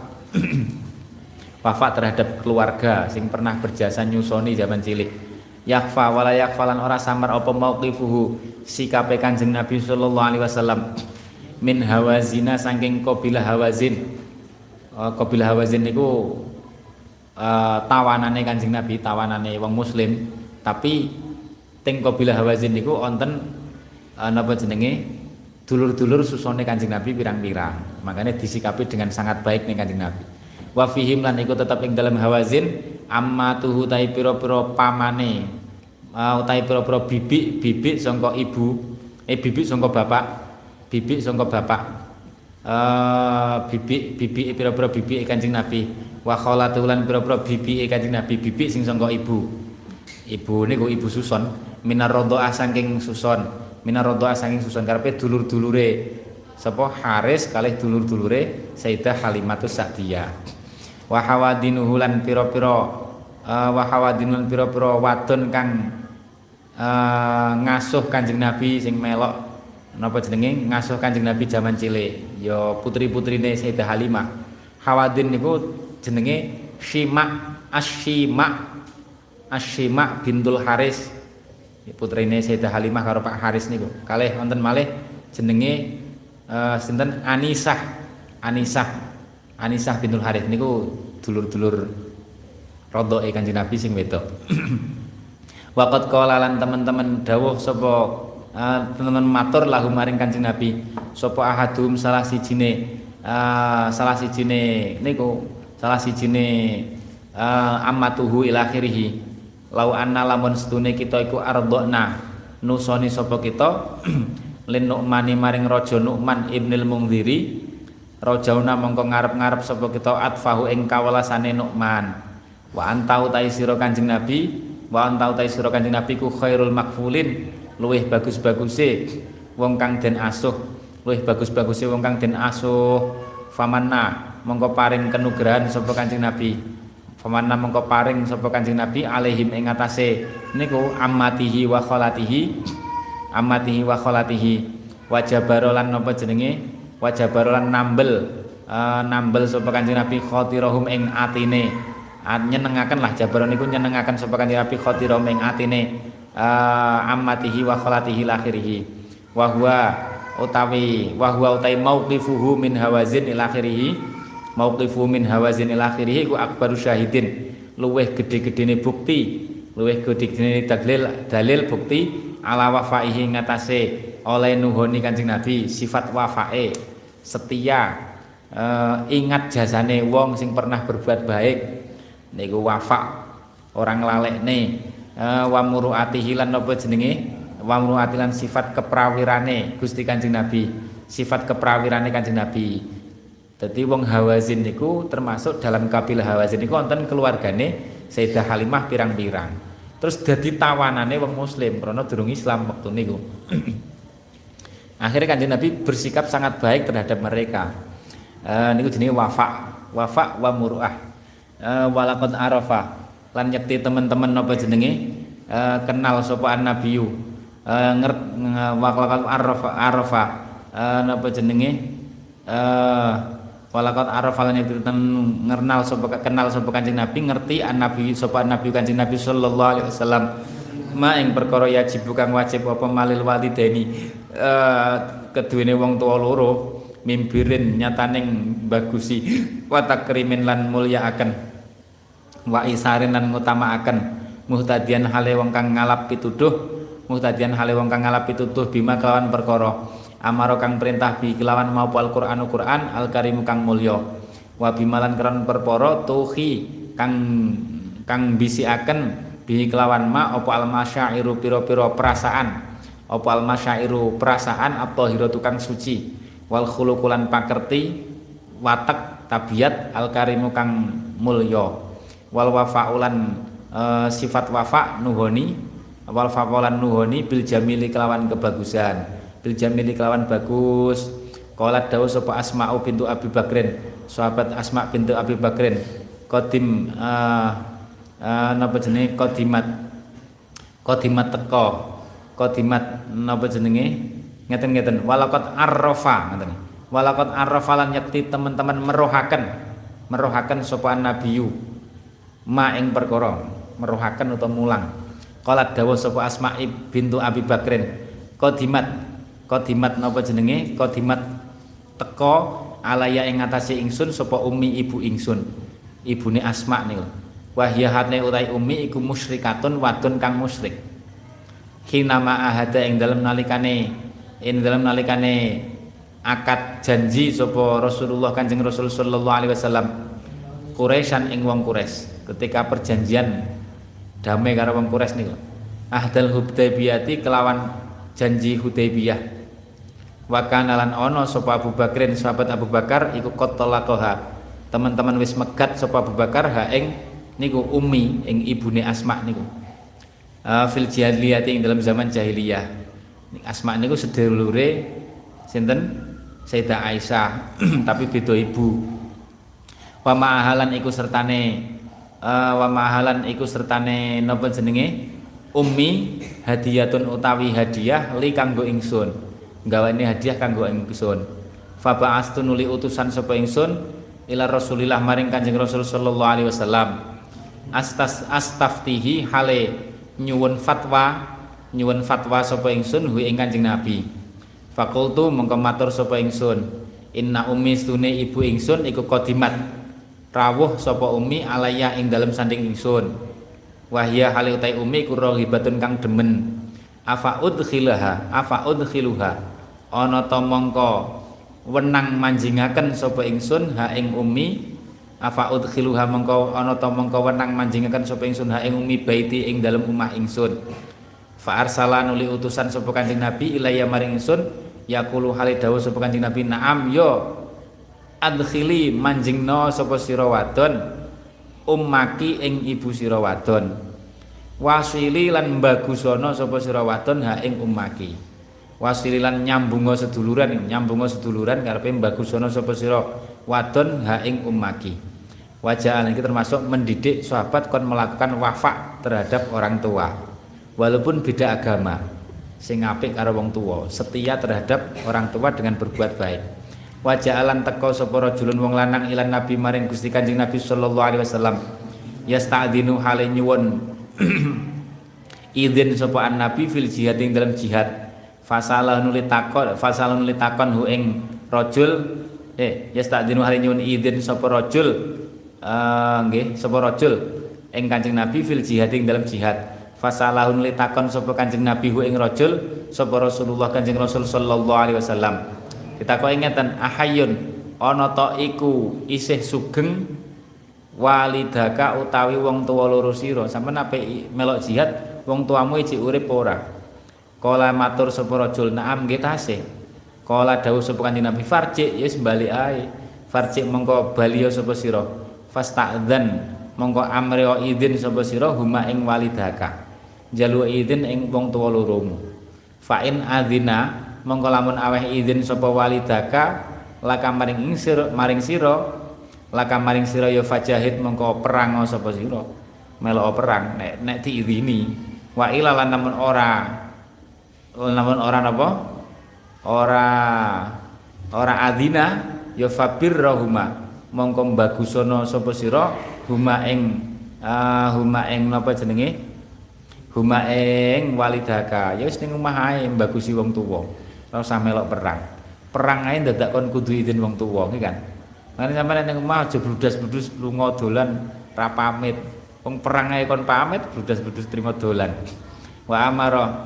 wafa terhadap keluarga sing pernah berjasa nyusoni zaman cilik. Yakhfa wala yakhfa lan ora samar apa mauqifuhu sikape Kanjeng Nabi sallallahu alaihi wasallam min Hawazina saking kabilah Hawazin. Uh, kabilah Hawazin niku uh, tawanane Kanjeng Nabi, tawanane wong muslim, tapi teng kabilah Hawazin niku wonten uh, napa jenenge? Dulur-dulur susone Kanjeng Nabi pirang-pirang. Makanya disikapi dengan sangat baik nih Kanjeng Nabi. Wa fihim lan iku tetep ing dalam Hawazin ammatuhu tai pira-pira pamane. Uh, utai pira-pira bibik bibik sangka ibu, eh bibik sangka bapak, bibik sangka bapak. Uh, bibik bibik pira-pira bibik Kanjeng Nabi. Wa khalatuhu lan pira-pira bibik Kanjeng Nabi, bibik sing sangka ibu. Ibu niku ibu Suson minar radhaah saking Suson. Minar radhaah saking susun karepe dulur-dulure sapa Haris kalih dulur-dulure Sayyidah Halimatus Sa'diyah. Wa hawadinuhu lan pira-pira uh, wa hawadinun pira-pira wadon kang uh, ngasuh Kanjeng Nabi sing melok napa jenenge ngasuh Kanjeng Nabi zaman cilik ya putri-putrine Sayyidah Halimah. Hawadin niku jenenge Syima Asyima Asyima bintul Haris. Putrine Sayyidah Halimah karo Pak Haris niku. Kalih wonten malih jenenge uh, sinten Anisah. Anisah. Anisah bintul Haris niku dulur-dulur rodhoke Kanjeng Nabi sing wedok. Waqat qala lan teman-teman dawuh sapa uh, teman-teman matur lahu maring Kanjeng Nabi sapa ahadum salah sijine uh, salah sijine niku salah sijine uh, ammatuhu ila akhirih. Lau anna lamun setune kita iku ardhna nusoni sapa kita lin Nu'mani maring raja Nu'man ibnil Mungdhiri rajauna mongko ngarep-ngarep sapa kita atfahu ing kawelasane Nu'man wa antau ta sira Kanjeng Nabi wa antau ta sira Kanjeng Nabi ku khairul makfulin luwih bagus-baguse wong kang den asuh luwih bagus-baguse wong kang den asuh famanna mongko paring kenugrahan sapa Kanjeng Nabi Famanna mengko paring sapa Kanjeng Nabi alaihim ing atase niku ammatihi wa kholatihi ammatihi wa kholatihi wajabarolan napa jenenge wajabarolan nambel uh, nambel sapa Kanjeng Nabi khotirahum ing atine nyenengaken lah jabaron niku nyenengaken sapa Kanjeng Nabi khotirahum ing atine uh, ammatihi wa kholatihi lakhirihi wa huwa utawi wa huwa utai mauqifuhu min Hawazin ila akhirih mauqifu min Hawazin ila akhirih ku akbaru syahidin luweh gede-gedene bukti luweh gede-gedene dalil dalil bukti ala wafaihi ngatasé oleh nuhoni Kanjeng Nabi sifat wafae setia uh, ingat jasane wong sing pernah berbuat baik niku wafa orang lalekne uh, wa muruatihi lan napa jenenge wa muruatilan sifat keprawirane Gusti Kanjeng Nabi sifat keprawirane Kanjeng Nabi. Dadi wong Hawazin niku termasuk dalam kabilah Hawazin niku wonten keluargane Sayyidah Halimah pirang-pirang. Terus dadi tawanane wong muslim karena durung Islam waktu niku. Akhirnya Kanjeng Nabi bersikap sangat baik terhadap mereka. Uh, niku jenenge wafa, wafa wa muruah. Uh, walaqad arafa lan nyekti teman-teman napa jenenge uh, kenal sapa nabiyu. Uh, ngert walaqad arafa arafa uh, napa jenenge uh, walaqad arafa lan nyekti ngenal sapa kenal sapa Kanjeng Nabi ngerti an nabi sapa nabi Kanjeng Nabi sallallahu alaihi wasallam ma ing perkara yajib kang wajib apa malil walidaini uh, keduwene wong tuwa loro mimbirin nyataning bagusi wa takrimin lan mulyaaken wa isarin lan ngutamaaken muhtadian hale wong kang ngalap pituduh muhtadian hale wong kang ngalap pituduh bima kelawan perkara amaro kang perintah bi kelawan mau Al-Qur'anu Qur'an al-Karim kang mulya wa bimalan keran perpara tuhi kang kang bisiaken bi kelawan ma apa al-masyairu pira-pira perasaan apa al-masyairu perasaan at-tahiratu kang suci wal khuluqulan pakerti watak tabiat al-karimu kang mulya wal wafaulan e, sifat wafa nuhoni wal wafaulan nuhoni bil jamili kelawan kebagusan bil jamili kelawan bagus qalat dawu sapa Asma'u bintu Abi Bakrin sahabat Asma' bintu Abi Bakrin qadim uh, uh, napa jenenge qadimat qadimat teko qadimat napa jenenge ngeten-ngeten walaqad arrafa ngeten walaqad arrafa lan yakti teman-teman merohaken merohaken sapa nabiyu ma ing perkara merohaken utawa mulang qalat dawu sapa Asma' bintu Abi Bakrin qadimat Qadimat napa jenenge qadimat teko alaya ing ngatasi ingsun sapa umi ibu ingsun ibune Asma niku wahyahane utai umi iku musyrikatun wadon kang musyrik hinama ahada ing dalem nalikane ing dalem nalikane akad janji sapa Rasulullah Kanjeng Rasul sallallahu alaihi wasallam Quraisyan ing wong Quraisy ketika perjanjian damai karo wong Quraisy niku ahdal Hudaybiyati kelawan janji Hudaybiyah wa kana lan ana sapa Abu Bakrin sahabat Abu Bakar iku qatalaqaha teman-teman wis megat sapa Abu Bakar ha ing niku ummi ing ibune Asma niku uh, fil jahiliyah ing dalam zaman jahiliyah Asma niku sedulure sinten Sayyidah Aisyah tapi beda ibu wa ma'ahalan iku sertane uh, wa ma'ahalan iku sertane napa jenenge ummi hadiyatun utawi hadiah li kanggo ingsun gawane hadiah kanggo ingsun fa ba'astu nuli utusan sapa ingsun ila Rasulillah maring Kanjeng Rasul sallallahu alaihi wasallam astas astaftihi hale nyuwun fatwa nyuwun fatwa sapa ingsun hu ing Kanjeng Nabi fakultu mongko matur sapa ingsun inna ummi stune ibu ingsun iku qadimat rawuh sapa ummi alaya ing dalem sanding ingsun wahya hale utai ummi iku rahibatun kang demen afa udkhilaha afa udkhiluha ana ta mongko wenang manjingaken sapa ingsun ha ing ummi afa udkhiluha mongko ana ta mongko wenang manjingaken sapa ingsun ha ing ummi baiti ing dalem omah ingsun fa arsala nuli utusan sapa Kanjeng Nabi ilaya maring ingsun yaqulu hale dawuh sapa Kanjeng Nabi na'am yo adkhili manjingna sapa sira wadon ummaki ing ibu sira wadon wasili lan bagusana sapa sira wadon ha ing ummaki wasili lan nyambunga seduluran nyambunga seduluran karepe bagusana sapa sira wadon ha ing ummaki wajah iki termasuk mendidik sahabat kon melakukan wafa terhadap orang tua walaupun beda agama sing apik karo wong tuwa setia terhadap orang tua dengan berbuat baik wajah alan teko sapa rajulun wong lanang ilan nabi maring Gusti Kanjeng Nabi sallallahu alaihi wasallam yasta'dinu hale nyuwun izin sapa nabi fil jihad ing dalam jihad fasalah nuli takon fasalah nuli takon hu ing rajul eh yasta'dinu hale nyuwun izin sapa rajul uh, nggih sapa rajul ing Kanjeng Nabi fil jihad ing dalam jihad fasalah nuli takon sapa Kanjeng Nabi hu ing rajul sapa Rasulullah Kanjeng Rasul sallallahu alaihi wasallam kita kok ingatan ahayun ana ta iku isih sugeng walidaka utawi wong tuwa loro sira sampeyan ape melok jihad wong tuamu iki urip ora kala matur sapa rajul naam nggih tasih kala dawuh sapa kanjeng Nabi farji ya wis bali ae farji mengko bali sapa sira fasta'dzan mongko amri idzin sapa sira huma ing walidaka jalu idzin ing wong tuwa loromu fa in adzina mongko lamun aweh idzin sapa walidaka laka maring sira maring sira laka maring sira ya fajahid mongko perang sapa sira melok perang nek nek diidzini wa ila lan namun ora namun ora napa ora ora adzina ya fabirrahuma mongko bagusono sapa sira huma ing uh, huma ing napa jenenge huma ing walidaka ya wis ning omah ae mbagusi wong tuwa ora usah melok perang perang ae dadak kon kudu izin wong tuwa iki kan mane sampeyan ning omah aja bludas-bludus lunga dolan ra pamit wong perang ae kon pamit bludas-bludus trimo dolan wa amara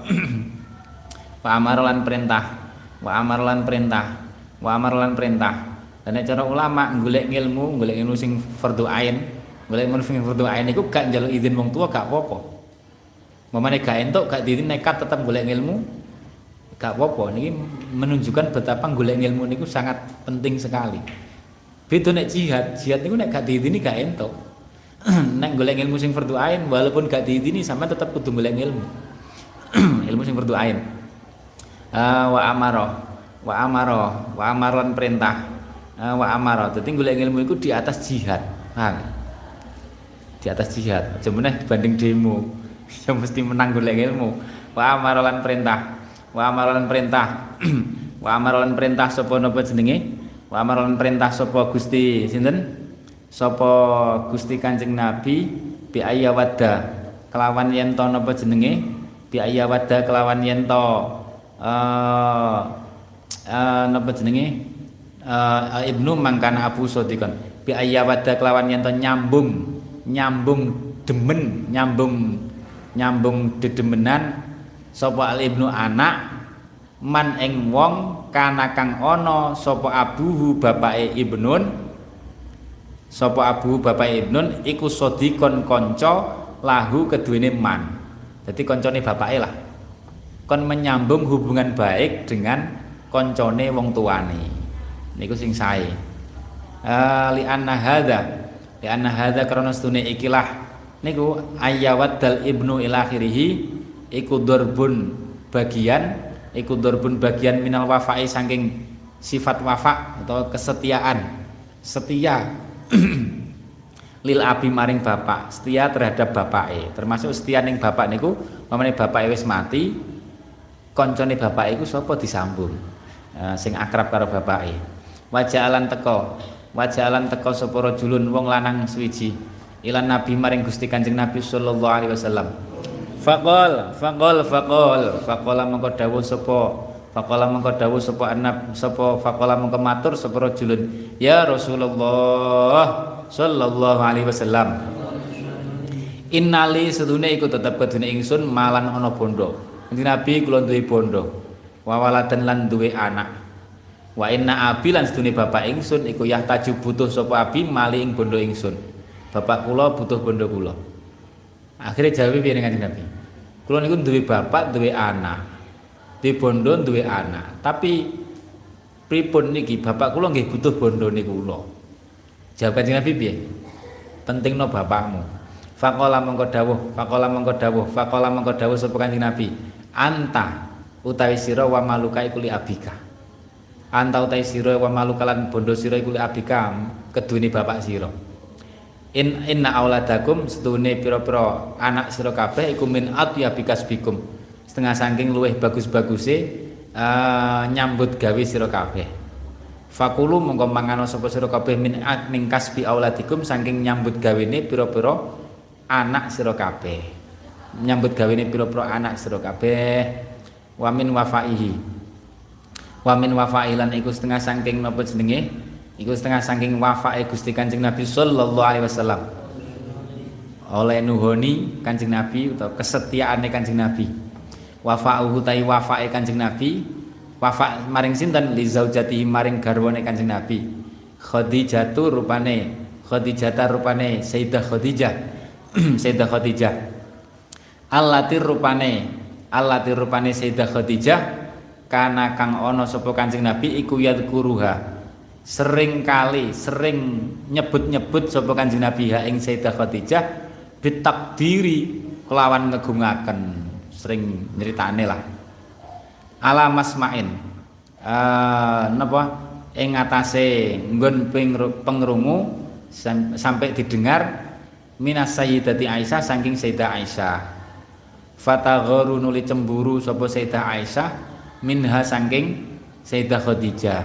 wa amara lan perintah wa amara lan perintah wa amara lan perintah dan nek cara ulama golek ilmu golek ilmu sing fardhu ain golek ilmu sing fardhu ain iku gak njaluk izin wong tua gak apa-apa mamane gak entuk gak diirin nekat tetap golek ilmu gak apa-apa niki menunjukkan betapa golek ilmu niku sangat penting sekali beda nek jihad jihad niku nek gak diizini gak entuk nek golek ilmu sing fardhu ain walaupun gak diizini sampean tetap kudu golek ilmu ilmu sing fardhu ain uh, wa amara wa amara wa amaran perintah uh, wa amara dadi golek ilmu iku di atas jihad paham di atas jihad aja meneh dibanding demo yang mesti menang golek ilmu wa amara lan perintah wa amara lan perintah wa amara lan perintah sapa napa jenenge wa amara lan perintah sapa Gusti sinten sapa Gusti Kanjeng Nabi bi ayyawadda kelawan yen to napa jenenge bi ayyawadda kelawan yen to eh uh, napa jenenge uh, Ibnu mangkana Abu Sodiqon bi ayyawadda kelawan yen to nyambung nyambung demen nyambung nyambung dedemenan sapa al ibnu anak man ing wong kana kang ana sapa abuhu bapake ibnun sapa abuhu bapake ibnun iku sodikon kanca lahu keduwene man dadi kancane bapake lah kon menyambung hubungan baik dengan kancane wong tuane niku sing sae uh, li anna hadza li anna hadza karena stune ikilah niku ayyawaddal ibnu ila akhirih iku darbun bagian iku darbun bagian minal wafai saking sifat wafa atau kesetiaan setia lil abi maring bapak setia terhadap bapake termasuk setia ning bapak niku pamane bapake wis mati kancane bapak iku sapa disambung uh, sing akrab karo bapake wajalan teko wajalan teko sapa rajulun wong lanang suwiji ilan nabi maring Gusti Kanjeng Nabi sallallahu alaihi wasallam faqal faqal faqal faqala mengko dawuh sapa faqala mengko dawuh sapa annab sapa faqala mengko matur sapa rajulun ya Rasulullah sallallahu alaihi wasallam innali sedune iku tetep kedune ingsun malan ana bondo Kanjeng Nabi kula duwe bondo wa waladan lan duwe anak wa inna abi lan sedune bapak ingsun iku yahtaju butuh sapa abi mali ing bondo ingsun bapak kula butuh bondo kula. Akhire jawab piye ning Kanjeng Nabi? Kula niku duwe bapak, duwe anak. Duwe bondo, duwe anak. Tapi pripun niki bapak kula nggih butuh bondo niku kula. Jawab Kanjeng Nabi piye? Pentingno bapakmu. Faqala mengko dawuh, faqala mengko dawuh, faqala mengko dawuh sapa Kanjeng Nabi. Anta utawi sira wa maluka iku li abika. Anta utawi sira wa maluka lan bondo sira iku li abika keduweni bapak sira. In inna auladakum sedune pira-pira anak sira kabeh iku min atyabikas bikum setengah saking luweh bagus-baguse uh, nyambut gawe sira kabeh fakulu mongko mangano sapa sira kabeh min ning kasbi auladikum saking nyambut gawene pira-pira anak sira kabeh nyambut gawene pira-pira anak sira kabeh wa min wafaihi wa min wafailan iku setengah saking napa jenenge iku setengah saking wafae Gusti Kanjeng Nabi sallallahu alaihi wasallam oleh nuhoni Kanjeng Nabi utawa kesetiaane Kanjeng Nabi wafa'uhu tai wafae Kanjeng Nabi wafa maring sinten li zaujatihi maring garwane Kanjeng Nabi Khadijatu rupane Khadijata rupane Sayyidah Khadijah Sayyidah Khadijah allati rupane allati rupane Sayyidah Khadijah kana kang ana sapa Kanjeng Nabi iku yadkuruha sering kali sering nyebut-nyebut sapa Kanjeng Nabi ha ing Sayyidah Khadijah bitakdiri kelawan ngegungaken sering nyeritane lah ala masmain uh, napa ing atase nggon pengrungu sam, sampai didengar minas sayyidati Aisyah saking Sayyidah Aisyah fatagharu nuli cemburu sapa Sayyidah Aisyah minha saking Sayyidah Khadijah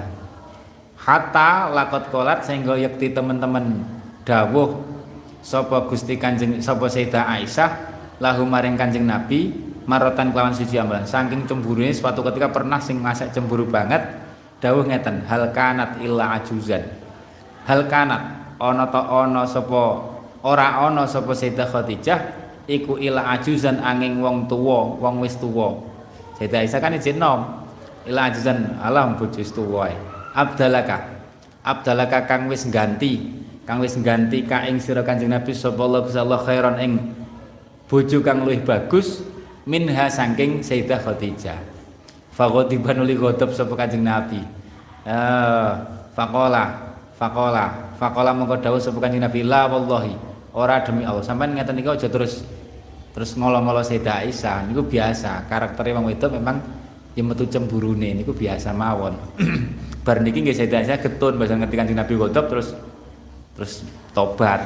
hatta lakot kolat sehingga yakti teman-teman dawuh sapa Gusti Kanjeng sapa Sayyidah Aisyah lahu maring Kanjeng Nabi marotan kelawan suci ambalan saking cemburune suatu ketika pernah sing ngasak cemburu banget dawuh ngeten hal kanat illa ajuzan hal kanat ana ta ana sapa ora ana sapa Sayyidah Khadijah iku illa ajuzan angin wong tuwa wong wis tuwa Sayyidah Aisyah kan izin nom illa ajuzan alam bojo wis tuwa abdalaka abdalaka kang wis ganti kang wis ganti ka ing sira Kanjeng Nabi sallallahu alaihi wasallam khairon ing bojo kang luwih bagus minha saking Sayyidah Khadijah faghadiban li ghadab sapa Kanjeng Nabi eh faqala faqala faqala mongko dawuh sapa Kanjeng Nabi la wallahi ora demi Allah sampean ngeten iki aja terus terus ngolo-ngolo Sayyidah Aisyah niku biasa karaktere wong wedok memang ya metu cemburune niku biasa mawon bar niki nggih Sayyidah Aisyah getun bahasa ngerti Kanjeng Nabi ghadab terus terus tobat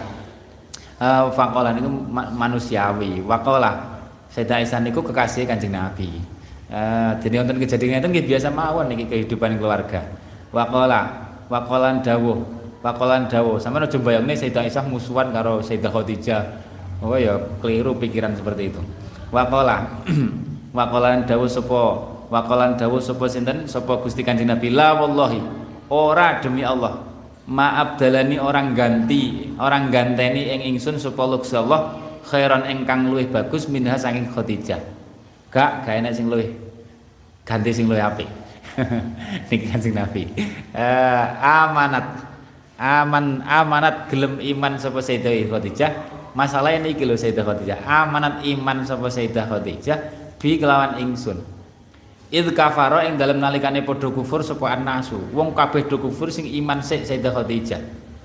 uh, faqala niku manusiawi waqala Sayyidah Aisyah niku kekasih Kanjeng Nabi uh, jadi wonten kejadian ngeten nggih biasa mawon niki kehidupan keluarga waqala waqalan dawuh waqalan dawuh sampeyan aja bayangne Sayyidah Aisyah musuhan karo Sayyidah Khadijah oh ya keliru pikiran seperti itu waqala waqalan dawuh sapa waqalan dawuh sapa sinten sapa Gusti Kanjeng Nabi la wallahi ora demi Allah maaf dalani orang ganti orang ganteni ing ingsun sapa Allah khairan ingkang luwih bagus minha saking Khadijah gak gak enak sing luwih ganti sing luwih apik niki Kanjeng Nabi uh, amanat aman amanat gelem iman sapa Sayyidah Khadijah masalah niki lho Sayyidah Khadijah amanat iman sapa Sayyidah Khadijah bi kelawan ingsun id kafara ing dalem nalikane padha kufur sapa annasu wong kabeh do kufur sing iman sik Sayyidah Khadijah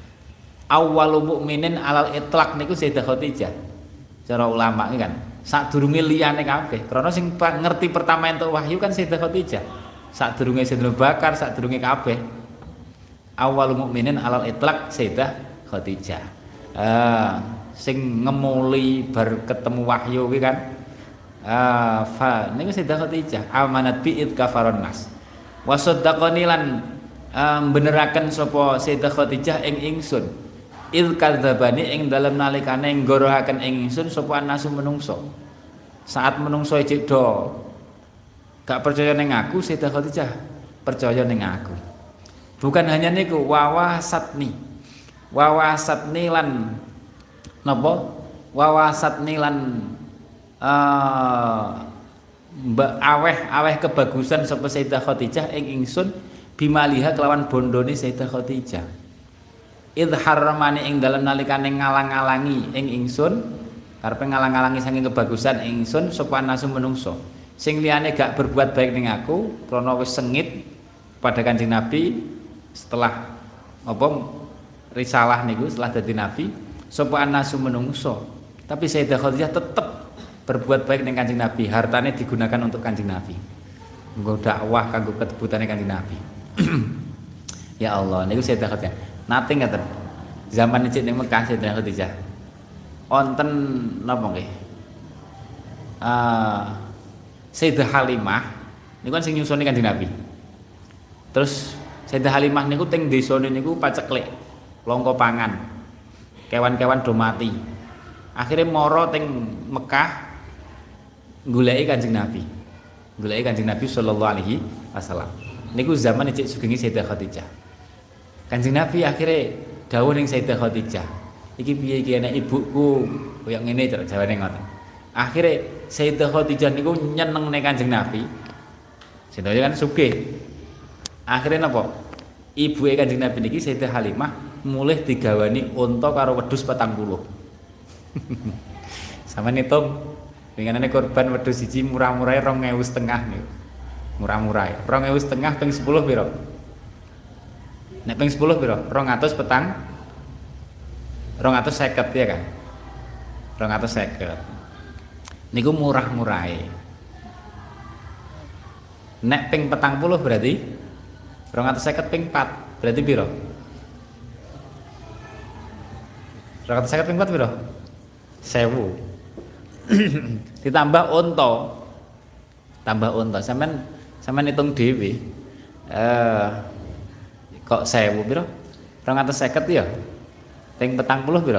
awwalu mukminin alal itlaq niku Sayyidah Khadijah cara ulama iki kan sadurunge liyane kabeh krana sing ngerti pertama entuk wahyu kan Sayyidah Khadijah sadurunge Sayyidina Bakar sadurunge kabeh awwalu mukminin alal itlaq Sayyidah Khadijah ah sing ngemuli bar ketemu wahyu kuwi kan ah fa niku Sayyidah Khadijah amanat bi id kafaron nas wa saddaqani lan um, beneraken sapa Sayyidah Khadijah ing ingsun id kadzabani ing dalem nalikane nggorohaken ing ingsun sapa nasu menungso saat menungso ijik do gak percaya ning aku Sayyidah Khadijah percaya ning aku bukan hanya niku wawasatni wawasatni lan napa wawasatni lan Uh, mbak aweh aweh kebagusan sapa Sayyidah Khadijah ing ingsun bimaliha kelawan bondone Sayyidah Khadijah idharramani ing dalem nalikane ngalang-alangi ing ingsun karepe ngalang-alangi saking kebagusan ingsun sapa nasu menungso sing liyane gak berbuat baik ning aku krana wis sengit pada Kanjeng Nabi setelah apa risalah niku setelah dadi nabi sapa nasu menungso tapi Sayyidah Khadijah tetep berbuat baik dengan Kanjeng Nabi hartanya digunakan untuk Kanjeng Nabi nggo dakwah kanggo ketebutane Kanjeng Nabi ya Allah niku Sayyidah Khadijah nate ngaten zaman ijik ning Mekah Sayyidah Khadijah wonten napa nggih uh, Sayyidah Halimah niku kan sing nyusoni Kanjeng Nabi terus Sayyidah Halimah niku teng desane niku paceklek longko pangan kewan-kewan do mati akhirnya moro teng Mekah goleki Kanjeng Nabi. Goleki Kanjeng Nabi sallallahu alaihi wasallam. Niku zaman ijik sugeng Sayyidah Khadijah. Kanjeng Nabi akhirnya dawuh ning Sayyidah Khadijah. Iki piye iki enek ibuku koyo ngene cara jawane ngoten. Akhire Sayyidah Khadijah niku nyenengne Kanjeng Nabi. Sayyidah kan sugih. Akhire napa? ibuke Kanjeng Nabi niki Sayyidah Halimah mulih digawani unta karo wedhus patang puluh. Sama nitung winginane korban wedhus siji murah-murahe rong ewu setengah niku. Murah-murahe. rong ewu setengah ping sepuluh pira? Nek ping sepuluh pira? rong atus petang rong atus seket ya kan? rong atus seket. Niku murah-murahe. Nek ping petang puluh berarti rong atus seket ping empat berarti piro? rong atus seket ping empat piro? Sewu. Ditambah unta. Tambah unta. Sampeyan sampeyan hitung dhewe. Eh kok sewu piro? rong atus seket ya? Ping petang puluh piro?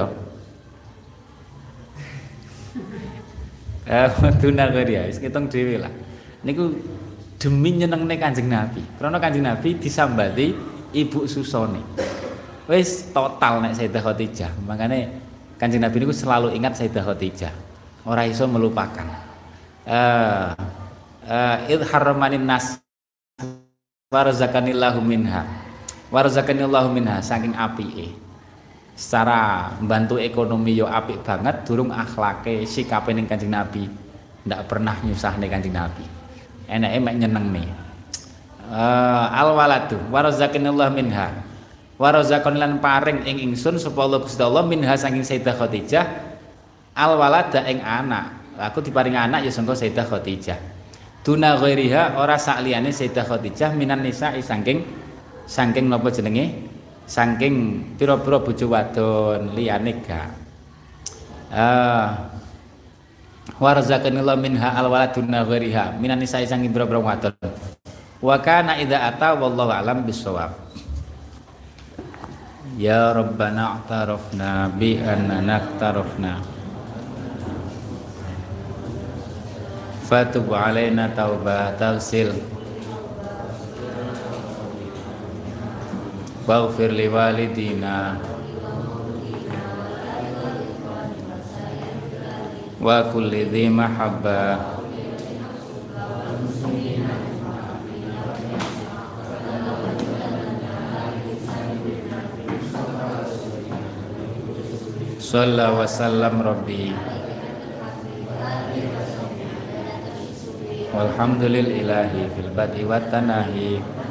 Eh tuna kok dia, wis ngitung dhewe lah. Niku demi nyenengne Kanjeng Nabi. Karena Kanjeng Nabi disambati ibu susone. Wis total nek Sayyidah Khadijah. Makane Kanjeng Nabi niku selalu ingat Sayyidah Khadijah. Ora iso melupakan. Eh eh idharramanin nas warzakanillahu minha. Warzakanillahu minha saking apike. Secara membantu ekonomi yo apik banget, durung akhlake sikape ning Kanjeng Nabi ndak pernah nyusahne Kanjeng Nabi. Enake mek nyenengne. Uh, al waladu warazaqanillahu minha. Warazaqan lan paring ing ingsun sapa Allah Gusti Allah minha saking Sayyidah Khadijah al walada ing anak. Aku diparingi anak ya sangka Sayyidah Khadijah. Duna ghairiha ora sak liyane Sayyidah Khadijah minan nisa'i saking saking napa jenenge? Saking pira-pira bojo wadon liyane gak. Ah warzaqanillahu minha alwaladuna ghairiha minan nisa'i saking pira-pira wadon. Wa kana idza ata wallahu alam bisawab. Ya Rabbana a'tarafna bi annana a'tarafna. Fatub alaina taubah taghsil. Waghfir li walidina wa kulli dhi mahabba sallallahu wa sallam rabbi walhamdulillahi fil bad'i wat tanahi